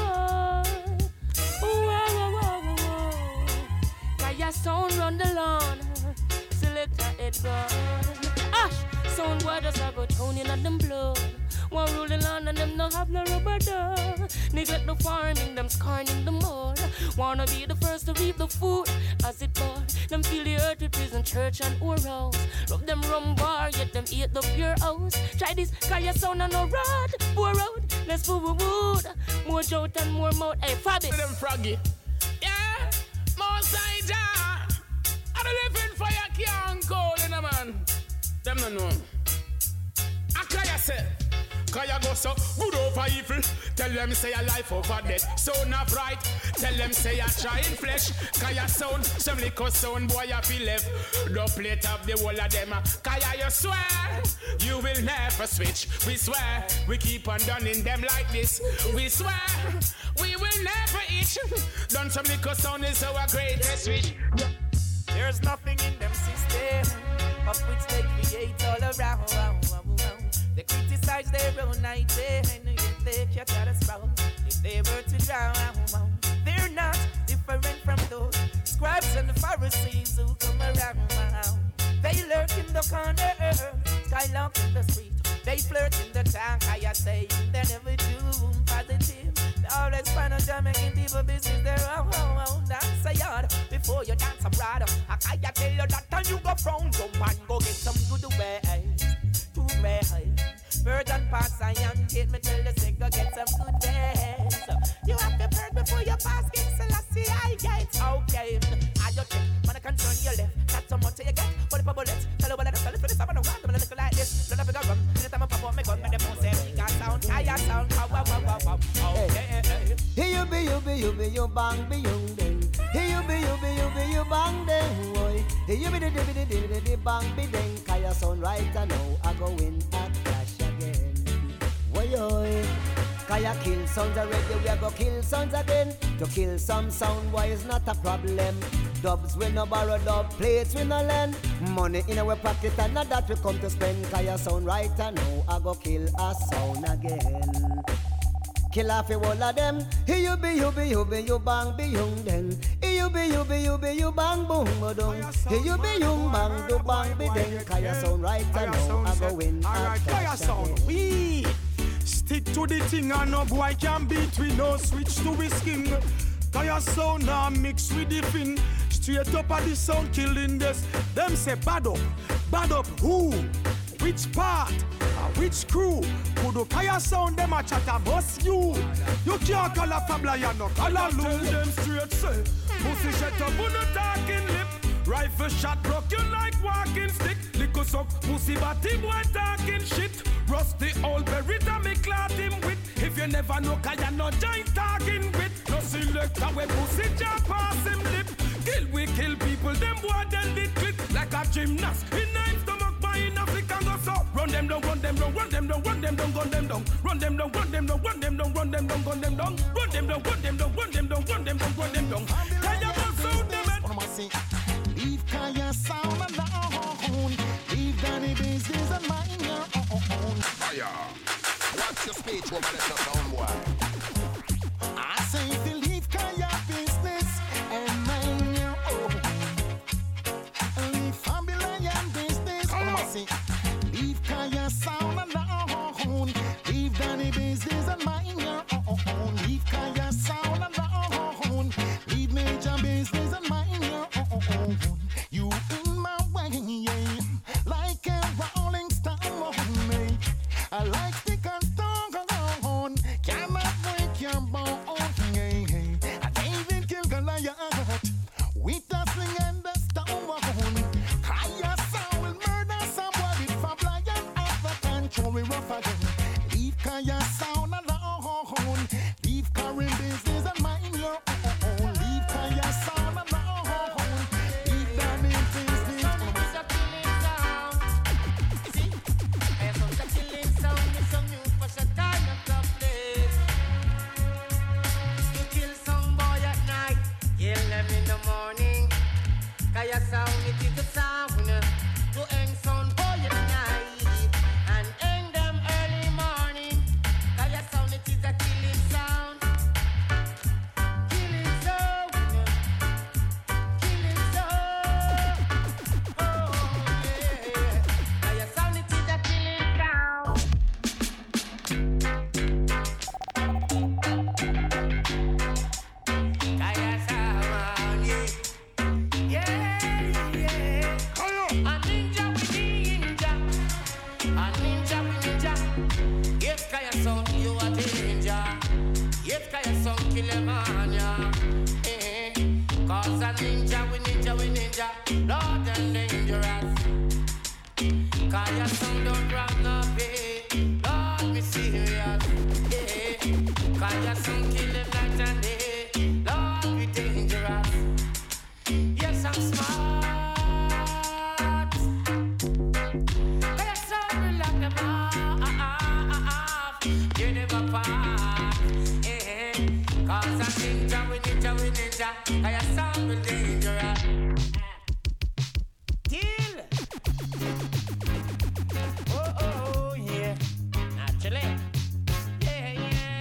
oh, oh, oh, oh. Kaya Sound run the lawn. Selector Edgar. Ash, sound boy just a go tuning on them blood. One rule the land and them no have no rubber duck. Neglect the farming, them scorning the mud. Wanna be the first to reap the food as it bud. Them feel the earth with prison, church and oral. Love them rum bar, yet them eat the pure house. Try this, Kaya Sound and no rod. Poor road, less food wood. More jolt and more mouth. Hey, Fabi. Them froggy. Yeah, more side jar. I don't live in fire, can't go, you know, man. Them no know. I Kaya say. Kaya go so good over evil. Tell them say a life over death. So not right. Tell them say a trying flesh. Kaya Sound, some liquor sound boy I feel left. Don't plate up the whole of them. Kaya you swear you will never switch. We swear we keep on dunning them like this. We swear we will never itch. Done some liquor sound is our greatest wish. There's nothing in them system of which they create all around. They criticize their own idea, and yet they can't let us wrong. If they were to drown, they're not different from those scribes and the Pharisees who come around. They lurk in the corner, skylark in the street. They flirt in the town, I say they never do positive. They always find a Jamaican people business their own. Dance a yard before you dance abroad. I can't tell you that time you go from jump and go get some good way. To me, virgin pass I am get me tell you say go get some good days. You have to burn before you pass get Selassie I get okay. I just check, man I can turn your left. Not so much you get, but if I bullet, tell you what I tell you for this, I'm gonna want them to look like this. Don't have to go run, anytime I pop up, me gun, me the phone say we got sound, Kaya Sound, wow wow wow wow wow. Okay. Here you be, you be, you be, you bang, be young ding. Here you be, you be, you be, you bang ding, boy. Here you be, the the the the the bang be ding. Kaya Sound right now, I go in at clash again. Boy, boy. Kaya kill sounds already, we go kill sounds again. To kill some sound, why is not a problem. Dubs we no borrow dub, plates we no lend. Money in our pocket and not that we come to spend. Kaya Sound right now, I go kill a sound again. Kill off all of them. Here you be, you be, you be, you bang, be young then. Here you be, you be, you be, you bang, boom, boom. Here you be, you bang, do bang, be then. Kaya Sound right now, I go win. Alright, Kaya Sound, we. Stick to the thing and no boy can beat we. No switch to we skin. Kaya sound now mix with the fin. Straight up at the sound killing this. Them say bad up, bad up who? Which part? Uh, which crew? Kudu Kaya sound them a chat a bust you. You can't call a Fabla, no call a Lou. Tell them straight say, pussy shut up on the talking lip. Rifle shot broke you like walking stick. Lick us up, pussy body boy talking shit. Rusty old berita me clot him with. If you never know Kaya no giant talking with. No selector when pussy jump pass him lip. Kill we kill people, them boy then did click. Like a gymnast, in nine stomach by in Africa go so. Run them down, run them down, run them down, run them down, gun them down. Run them down, run them down, run them down, run them down, gun them down. Run them down, run them down, run them down, run them down, run them down. Kaya bust out them and leave Kaya sound alone. Leave Danny business and mind your own. Fire. What's your speech over the sound boy? I say if you leave Kaya business and mind your own. Leave Fabulayan business. I say leave Kaya sound alone. Leave Danny business and mind your own. Leave Kaya sound alone. Leave major business and mind your own. You in my way, yeah, like a rolling stone. I like stick and stone, cannot break your bone. Yeah. I David kill Goliath with a sling and a stone. Kaya sound will murder somebody for blind off the control. We rough again. Leave Kaya sound alone. Leave Karim business and mind your own. Leave Kaya sound alone. Kaya sound, it is the sound to end sound boy at night and end them early morning. Kaya sound, it is a killing sound, killing sound, killing sound. Oh yeah, Kaya sound, it is a killing sound. Kaya sound, yeah. Yeah. Kill a man, yeah. Eh, cause a ninja, we ninja, we ninja, Lord and dangerous. Kaya sound don't rob no pay, Lord me serious. Eh, Kaya sound kill him night and day, Lord we dangerous. Yes, I'm smart. Kaya sound will lock them off. You never pass. Cause a ninja, we ninja, we ninja, Kaya sound will dangerous. Kill! Oh, oh, oh, yeah. Naturally. Yeah, yeah.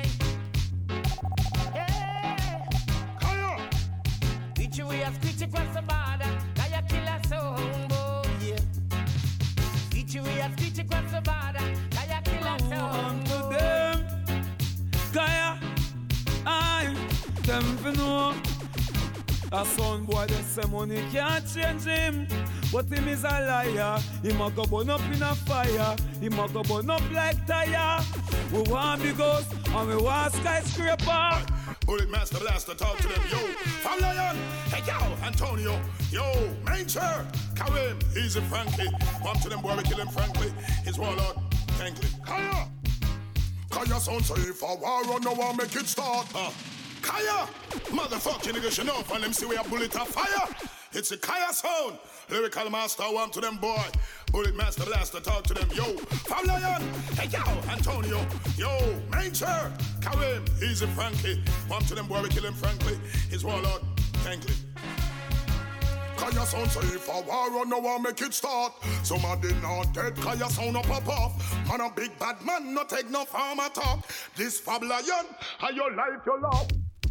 Yeah. Kaya! Which way a screech across the border, Kaya kill a sound, boy, yeah. Which way a screech across the border, Kaya kill a sound, boy. Them, Kaya. I, them for know. A son boy that say money can't change him, but him is a liar. Him a go burn up in a fire. Him a go burn up like tire. We want big house and we want skyscraper. Bullet Master Blaster, talk to them, yo. From Lion, hey yo, Antonio, yo, Major, Karim, Easy Frankie. Come to them boy, we kill him frankly. His warlord, Tankley. Kaya! Kaya sound say for war on no one make it start. Uh. Kaya! Motherfucking nigga, you know, and them see we a bullet of fire. It's a Kaya sound. Lyrical master, warm to them boy. Bullet Master Blaster, talk to them, yo. From Lion, hey yo, Antonio, yo, Major, Karim, Easy Frankie. Warm to them boy, we kill him frankly. His warlord, Tankley. Kaya sound say for war on no one make it start. Somebody not dead, Kaya sound no pop off. Man a big bad man, no take no farmer talk. This Fab Lion, how your life your love.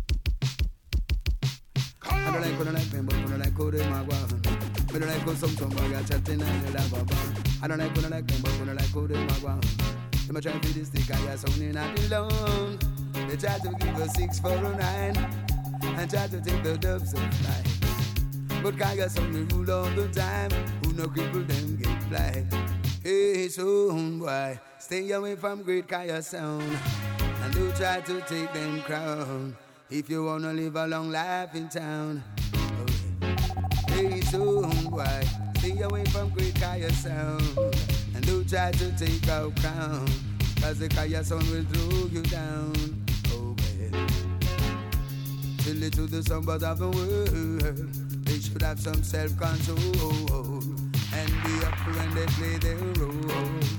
I don't like, I don't like them, but I don't like how they mag walk. I don't like how some some boy got chatting and they laugh about. I don't like, I don't like them, but I don't like how they mag walk. Them a try to this stick, I sound in not alone. They try to give a six for a nine and try to take the dubs and fly. But Kaya sound they rule all the time. Who no cripple them get blind. Hey, sound boy, stay away from great Kaya sound and don't try to take them crown. If you wanna live a long life in town. Hey, sound boy, stay away from great Kaya sound and don't try to take our crown, cause the Kaya sound will throw you down. Oh well, till it to the somebody of the world, they should have some self-control and be up when they play their role.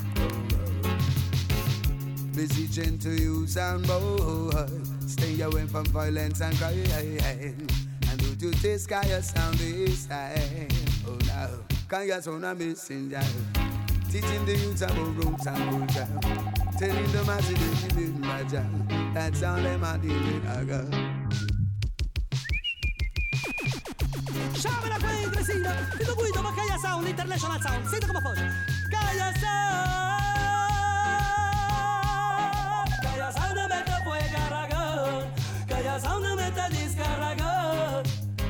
Beseeching to you sound boy, stay away from violence and crime. And do you taste Kaya sound this time? Oh now, Kaya sound a messenger, teaching the youth about roots and culture, telling them as it is in my job. That's all them are doing. Sciamela qua in Tresina, ti do guido ma Kaya Sound, International Sound, senti come fa. Kaya Sound, Kaya Sound mette poi caragón, Kaya Sound mette discaragón.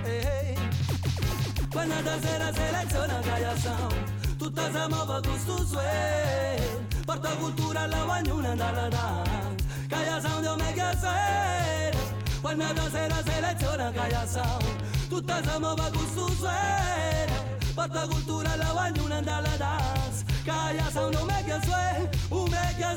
Quando da sera seleziona Kaya Sound, tutta si muove con sto swing, porta cultura alla guagnuna dalla dance. Kaya Sound io me che sei, quando da sera seleziona Kaya Sound, tutta si muove con sto swing, porta cultura alla guagnuna dalla dance. Kaya Sound io me che sei, io me che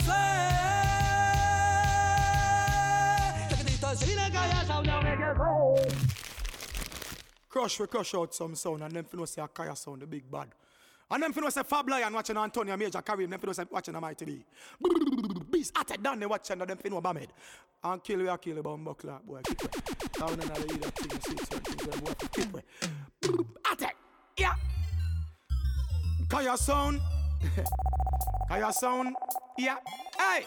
sei, che dito sine Kaya Sound io me che sei. Crush, we crush out some sound, and them finna say a Kaya Sound, the big bad. And them finna say Fab Lion watching Antonio Major Kareem, them finna say watching a Mighty B. Beast at it down, they watching, and them finna Bamed. And kill we a kill about buckler, boy, keep it. Down in the either thing, you see certain things, boy, keep it. At it, yeah. Kaya Sound. Kaya Sound, yeah. Hey!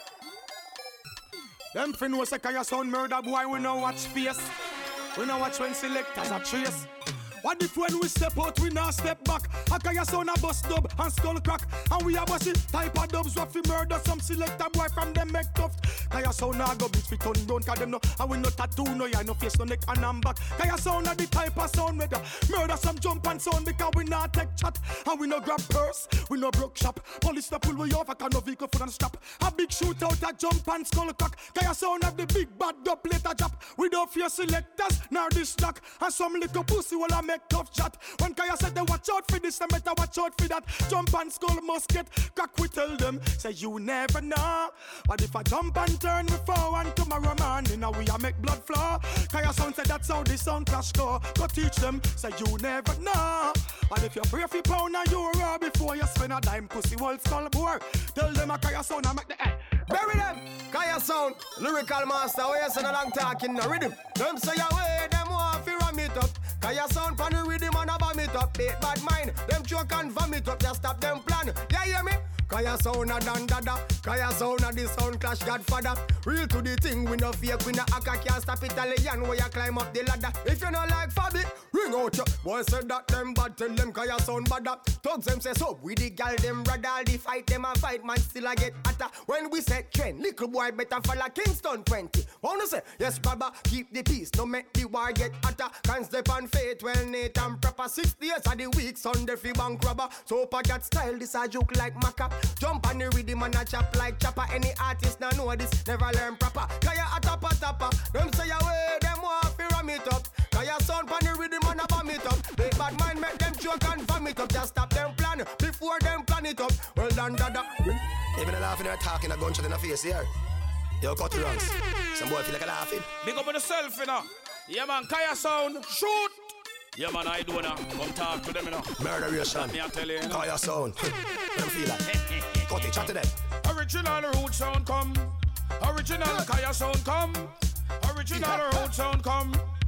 Them finna say Kaya Sound murder, boy, we no watch face. We know watch when selectors are trace. What if when we step out, we now step back? A Kaya Sound a bust dub and skull crack. And we a bossy type of dubs what fi murder some selector boy from them make tough. Kaya Sound a go beat fi turn down cause them no. And we no tattoo, no eye, no face, no neck and arm back. Kaya Sound a the type of sound murder. Murder some jump and sound because we not take chat. And we no grab purse, we no broke shop. Police no pull we over cause no vehicle full and stop. A big shootout a jump and skull crack. Kaya Sound have the big bad dub later drop. We don't fear selectors, nor this knock. And some little pussy will a make tough chat. When Kaya said they watch out for this, they better watch out for that. Jump and skull musket, crack we tell them. Say you never know. But if I jump and turn me forward tomorrow morning, now we a make blood flow. Kaya Sound said that's how the sound clash go. Go teach them, say you never know. And if you pray for pound and euro before you spend a dime, pussy wall skull bore. Tell them a Kaya Sound and make the head. Bury them, Kaya Sound, lyrical master, where you say no long talking, no rhythm. Them say away, them want to ram it up. Kaya Sound pan the rhythm and a vomit up. Bait bad mind, them choke and vomit up. Just stop them plan, yeah hear me? Kaya Sound a dan dada, Kaya Sound a the sound clash godfather. Real to the thing, we no fake, we no acca, can't stop Italian where you climb up the ladder. If you no like Fabi, ring out your boy said that them bad, tell them Kaya Sound badder. Thugs them say so, we the gal them brother, all the fight them a fight, man still a get hotter. When we set trend, little boy better follow Kingston twenty. Wanna say, yes brother, keep the peace, no make the war get hotter. Can't step on faith, well neat and proper. Six days of the week, Sunday fi bank robber. So packet style, this a joke like maca. Jump on the rhythm and a chop like chopper. Any artist now know this, never learn proper. Kaya a tapa tapa, them say away, them want fi ram it up. Kaya Sound on the rhythm and a bomb it up. Big bad mind make them choke and vomit up. Just stop them plan, before them plan it up. Well done dada. Even a laughing or talking a gunshot in the face here. Yo, cut the runs. Some boy feel like a laughing. Big up on yourself, you know. Yeah man, Kaya Sound, shoot. Yeah man, I do now. Come talk to them, you know. Murderation. Me I tell you, you know. Kaya Sound. Them feel like. Cut it, chat to them. Original root sound come. Original Kaya Sound come. Original root sound come.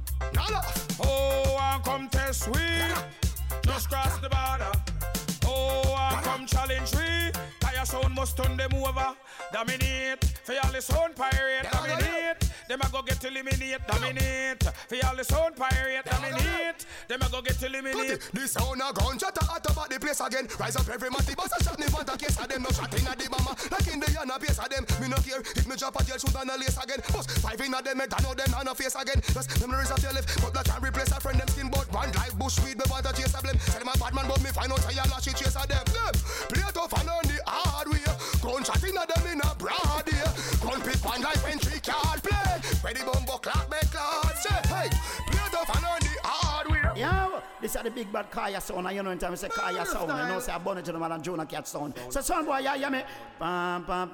Oh, and come test we. Just cross the border. Oh, and come challenge we. Kaya Sound must turn them over. Dominate. For all the sound pirate. Dominate. Them a go get eliminate, dominate. For all the sound pirate, dominate. Them a go get eliminate. This sound a gunshot a hot about the place again. Rise up every matty bus a shot me want a case of them. No shot inna the bomber like in the yana base of them. Me no care if me drop a jail shoot and a lace again. Bust five inna them head, I know them on a face again. Just memories of your life, but that can replace a friend them skin. But one like bushweed, me want a chase of them. Say them a bad man, but me find out say a lash it chase of them. Them play tough and on the hard way. Gunshot inna them in a broad day. Gun pit one like entry card play. Ready bumbo clap make class. Say hey, play tough and on the hard way. Yo, this is the big bad Kaya sound, and you know in time we say Kaya sound, you know say a bunny gentleman and Jonah Cat sound. So son boy, yeah, yeah me. Pam pam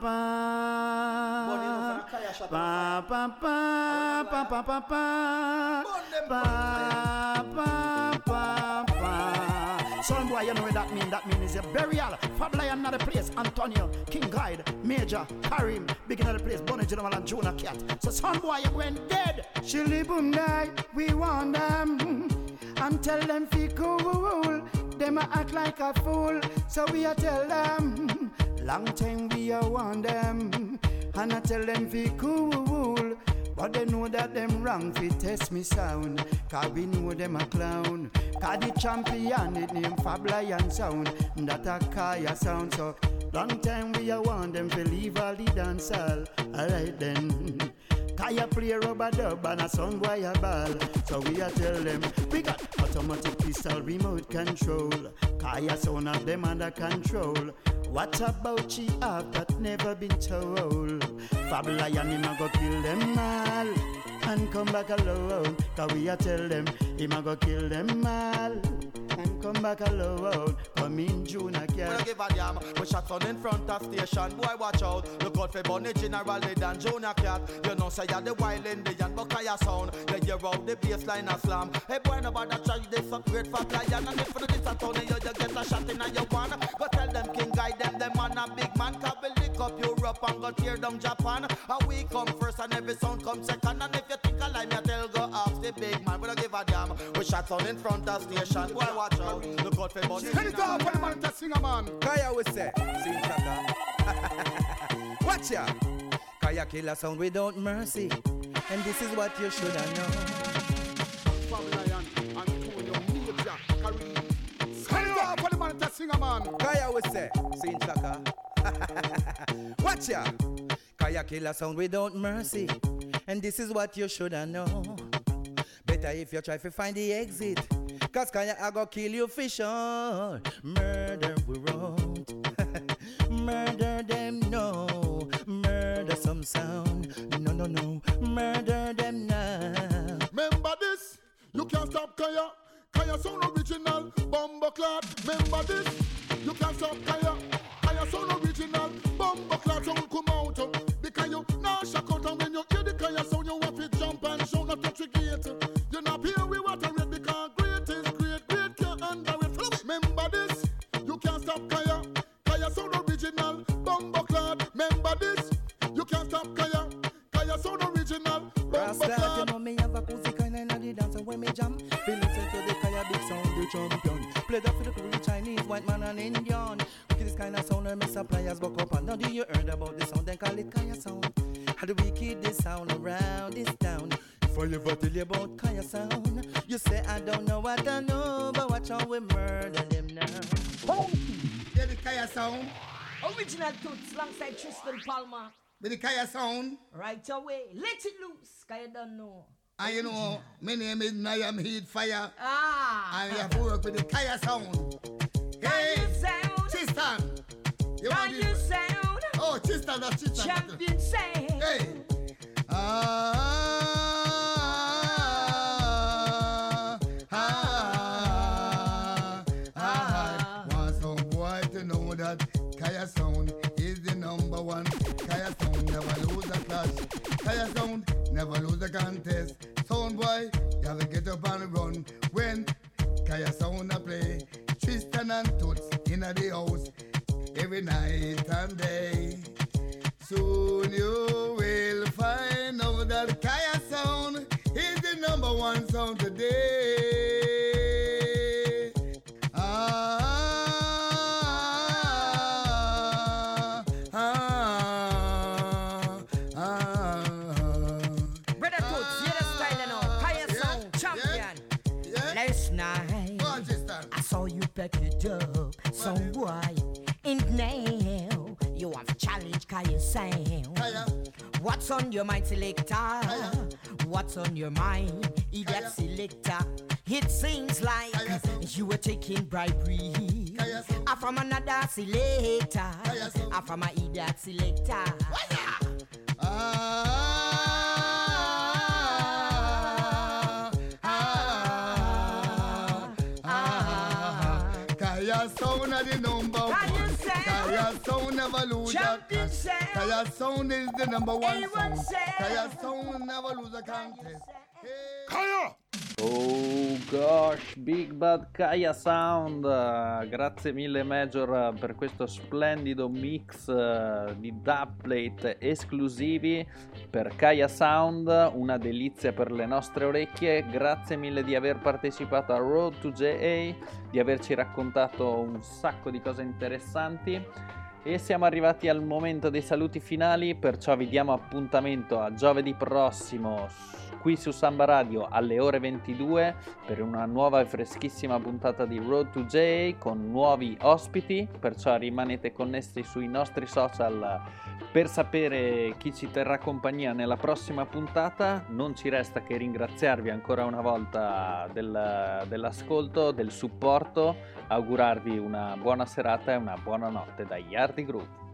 pam. Pam pam pam pam pam pam pam. Pam pam pam pam. Son boy, you know what that mean? That mean is a burial. Fab Lion not the place. Antonio, King Guide, Major, Karim, big in the place. Bunny gentleman and Jonah Cat. So son boy, you went dead. Chili boom die, we want them. And tell them fi cool. Them a act like a fool. So we a tell them. Long time we a want them. And I tell them fi cool. But they know that them wrong fi test me sound. Cause we know them a clown. Cause the champion it name Fab Lion sound. That a Kaya sound. So long time we a want them fi leave all the dance hall. Alright then. Kaya play rubber dub and a son boy a ball. So we a tell them we got automatic pistol remote control. Kaya sound of them under control. What about she have that never been told? Fab Lion him a go kill them all and come back alone. Cause we a tell them him a go kill them all and come back alone. Come in June again. We don't give a damn. We shot on in front of station. Boy, watch out. Look out for Bunny General than Jonah Cat. You know, say you're the wild Indian, but Kaya sound. You hear out the bassline a slam. Hey, boy, nobody try this up great Fab Lion. And if you do this at all, you, you get a shot in your one. Go tell them King Guide them, them man a big man. Cause we lick up Europe and go tear them Japan. And we come first and every sound come second. And if you think a lie, me tell go off the big man. We don't give a damn. We shot on in front of station. Boy, watch out. Look out for Bunny. Can you go up for the man to sing a man? Kaya we say, sing chaka. Watch ya. Kaya kill a sound without mercy. And this is what you should have known. Fab Lion and Antonio, Major, Karim. Can you go up for the man to sing a man? Kaya we say, sing chaka. Watch ya. Kaya kill a sound without mercy. And this is what you should have known. Better if you try to find the exit. Cause Kaya I go kill you for sure. Murder we won't. Murder them no. Murder some sound. No no no. Murder them now. Remember this. You can't stop Kaya. Kaya sound original. Bomba clad. Remember this. You can't stop Kaya. Kaya sound original. Bomba clad sound come out. Because you now shock out. And when you hear the Kaya sound you want to jump and shout not touch the gate. You're not here we want to read because great is great. Great can't under it. Remember this. You can't stop Kaya. Kaya sound original. Bomba clad. Remember this. You can't stop Kaya. Kaya sound original. Bomba clad. You know me have a pussy kind of the dancer when me jam. Feel listen to the Kaya big sound the champion. Play that for the Korean, Chinese, white man and Indian. Look at this kind of sound and me suppliers buck up. And now do you heard about the sound then call it Kaya sound. How do we keep this sound around this town? If I ever tell you about Kaya sound, you say I don't know what I know, but watch how we murder them now. Oh, yeah, the Kaya sound. Original Toots alongside Tristan Palmer. The Kaya sound. Right away. Let it loose. Kaya don't know. And you know, my name is Niam Heat Fire. Ah. And we have to work with the Kaya sound. Hey, Tristan. You want Kaya sound. Oh, Tristan, that's Tristan. Champion sound. Hey. Ah, ah, ah, ah. Want some boy to know that Kaya sound is the number one. Kaya sound never lose a clash. Kaya sound never lose a contest. Sound boy, you have to get up and run when Kaya sound a play. Tristan and Toots in the house every night and day. Soon you will find out that Kaya sound is the number one sound today. Ah, ah, ah, ah. back it up, some boy. And now you want to challenge Kaya sound. What's on your mind, selector? What's on your mind, idiot selector? It seems like you were taking bribery. I'm from another selector. I'm from an idiot selector. Ah, ah, ah, Kaya Sound are the number one. Kaya Sound never lose a contest. Kaya Sound is the number one sound. Kaya Sound never lose a contest. Kaya! Oh gosh, Big Bad Kaya Sound, grazie mille Major per questo splendido mix di dubplate esclusivi per Kaya Sound, una delizia per le nostre orecchie. Grazie mille di aver partecipato a Road to J A, di averci raccontato un sacco di cose interessanti. E siamo arrivati al momento dei saluti finali, perciò vi diamo appuntamento a giovedì prossimo qui su Samba Radio alle ore ventidue per una nuova e freschissima puntata di Road to J A con nuovi ospiti, perciò rimanete connessi sui nostri social per sapere chi ci terrà compagnia nella prossima puntata. Non ci resta che ringraziarvi ancora una volta del, dell'ascolto, del supporto, augurarvi una buona serata e una buona notte da Yardi Group.